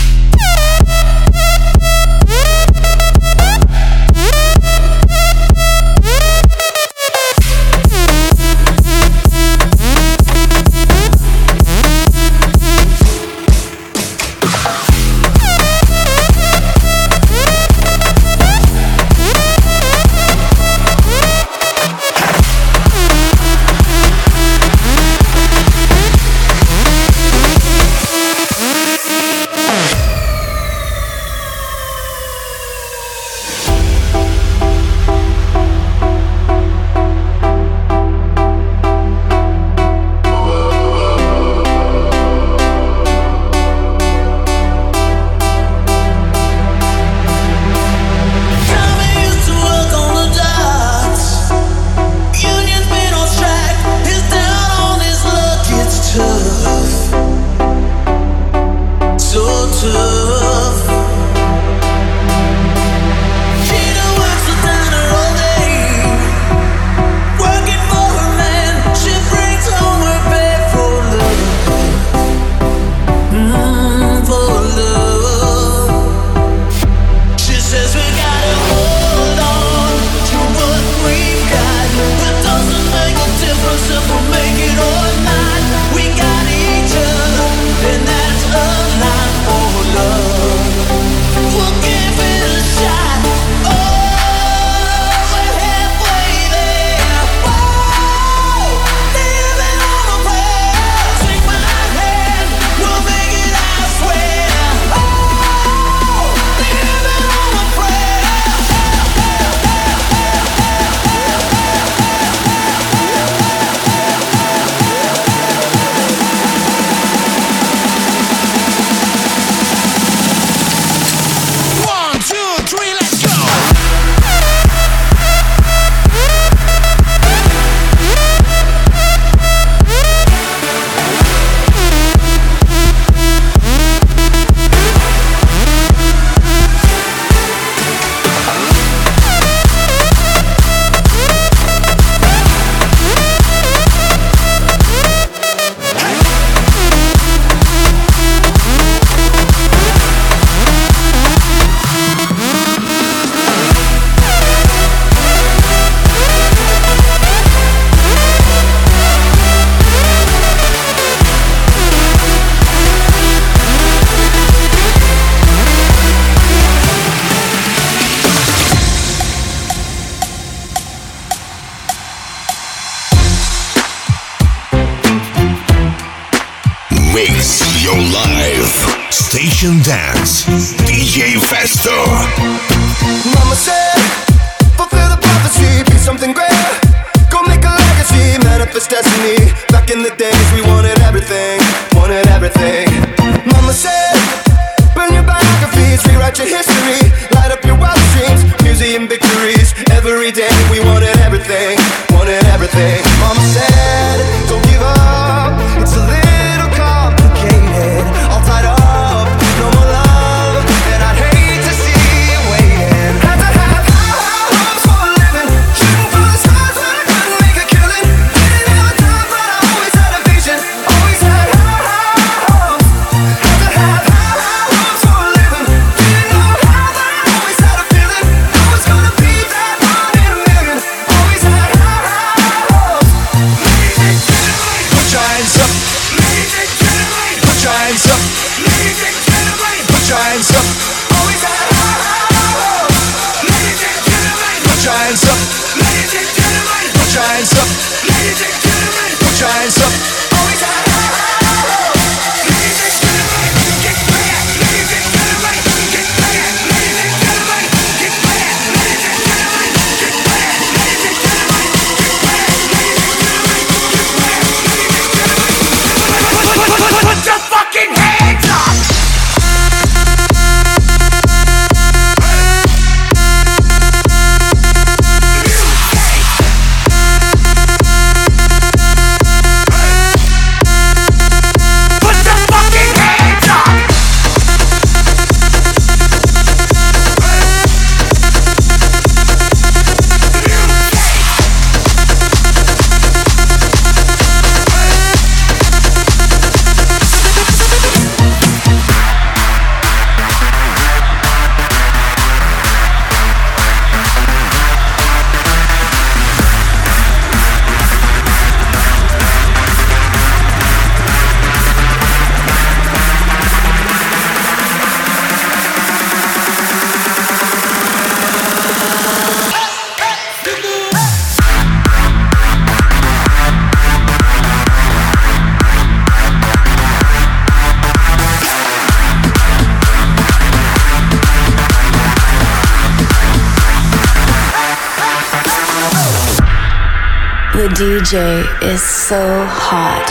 Speaker 19: Mix your life. Station Dance. D J Festo.
Speaker 7: Mama said, fulfill the prophecy, be something great. Go make a legacy. fantasy, manifest destiny. Back in the days we wanted everything, wanted everything. Mama said, burn your biographies, rewrite your history, light up your wildest dreams, museum victories. Every day we wanted everything, wanted everything. Mama said, don't give up, it's a little complicated, all tied up, no more love, and I'd hate to see you waiting. Had to have high hopes for a living, shooting for the stars when I couldn't make a killing. Didn't have the time, but I always had a vision, always had high, high hopes. Had to have high hopes for a living, didn't know how, but I always had a feeling I was gonna be that one in a million. Always had high, high hopes. Put your hands up. Put your hands up. Put your hands up. Always had high, high hopes. Put your hands up. Put your hands up. Put your hands up. Always had high, high hopes. Put your fucking hands up!
Speaker 3: The D J is so hot.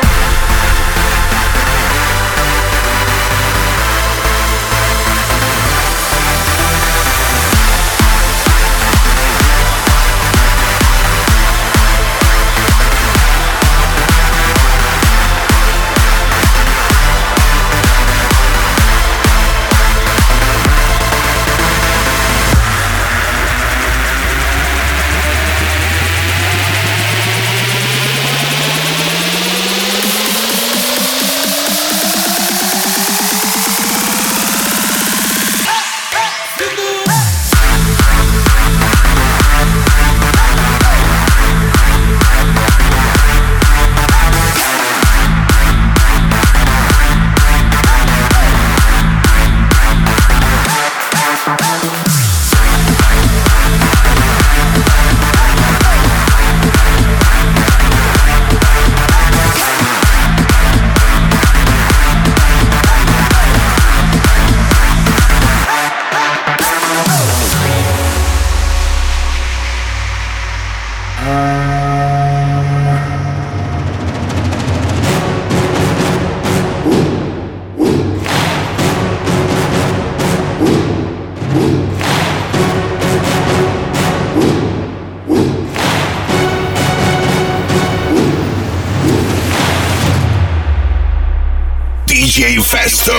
Speaker 19: D J Festo.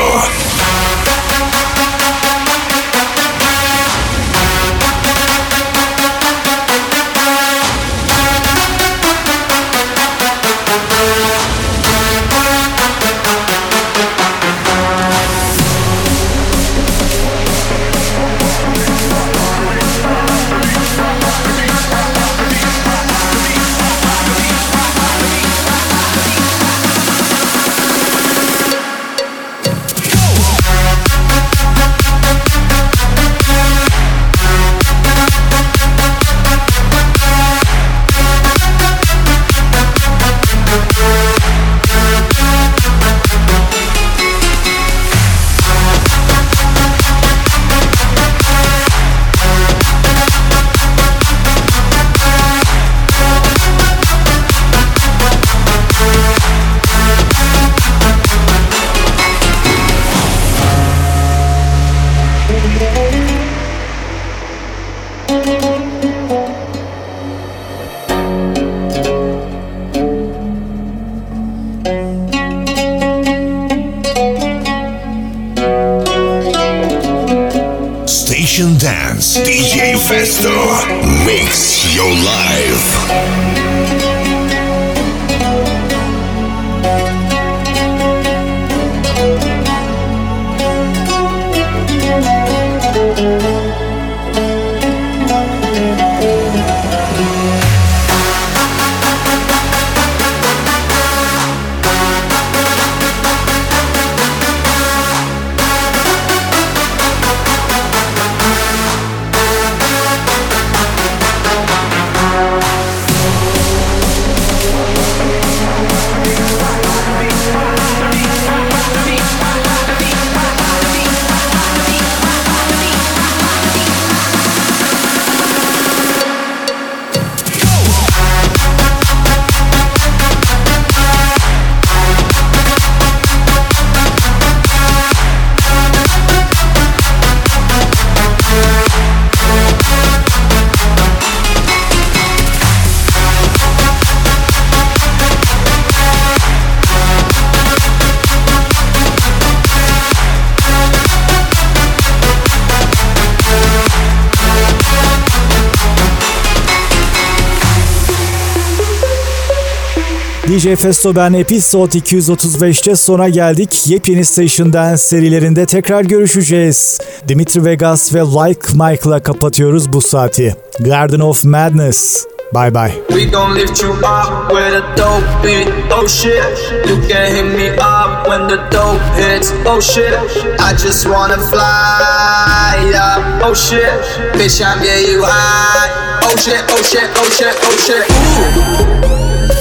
Speaker 19: Station Dance. D J Festo. Mix your life.
Speaker 8: D J Festo ben Episode iki yüz otuz beşte sona geldik. Yepyeni Station Dance serilerinde tekrar görüşeceğiz. Dimitri Vegas ve Like Mike'la kapatıyoruz bu saati. Garden of Madness. Bye bye.
Speaker 9: We gon' lift you up with a dope beat. Oh shit, you can hit me up when the dope hits. Oh shit, I just wanna fly up. Oh shit, bitch I'm yeah you high. Oh shit, oh shit, oh shit, oh shit. Ooh.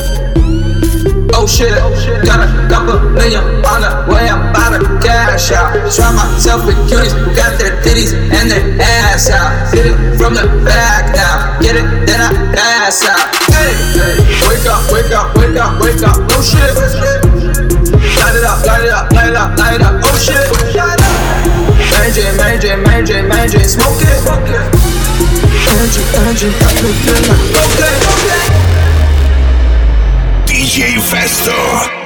Speaker 9: Oh shit, got a couple million on the way, I'm about to cash out. Try myself with cuties who got their titties and their ass out. Hit it from the back now, get it, then I pass out. Hey, wake up, wake up, wake up, wake up, oh shit. Light it up, light it up, light it up, light it up, oh shit. Mary J, Mary J, Mary J, Mary J, smoke it. Energy, energy, I feel good like okay, okay.
Speaker 19: D J Festo.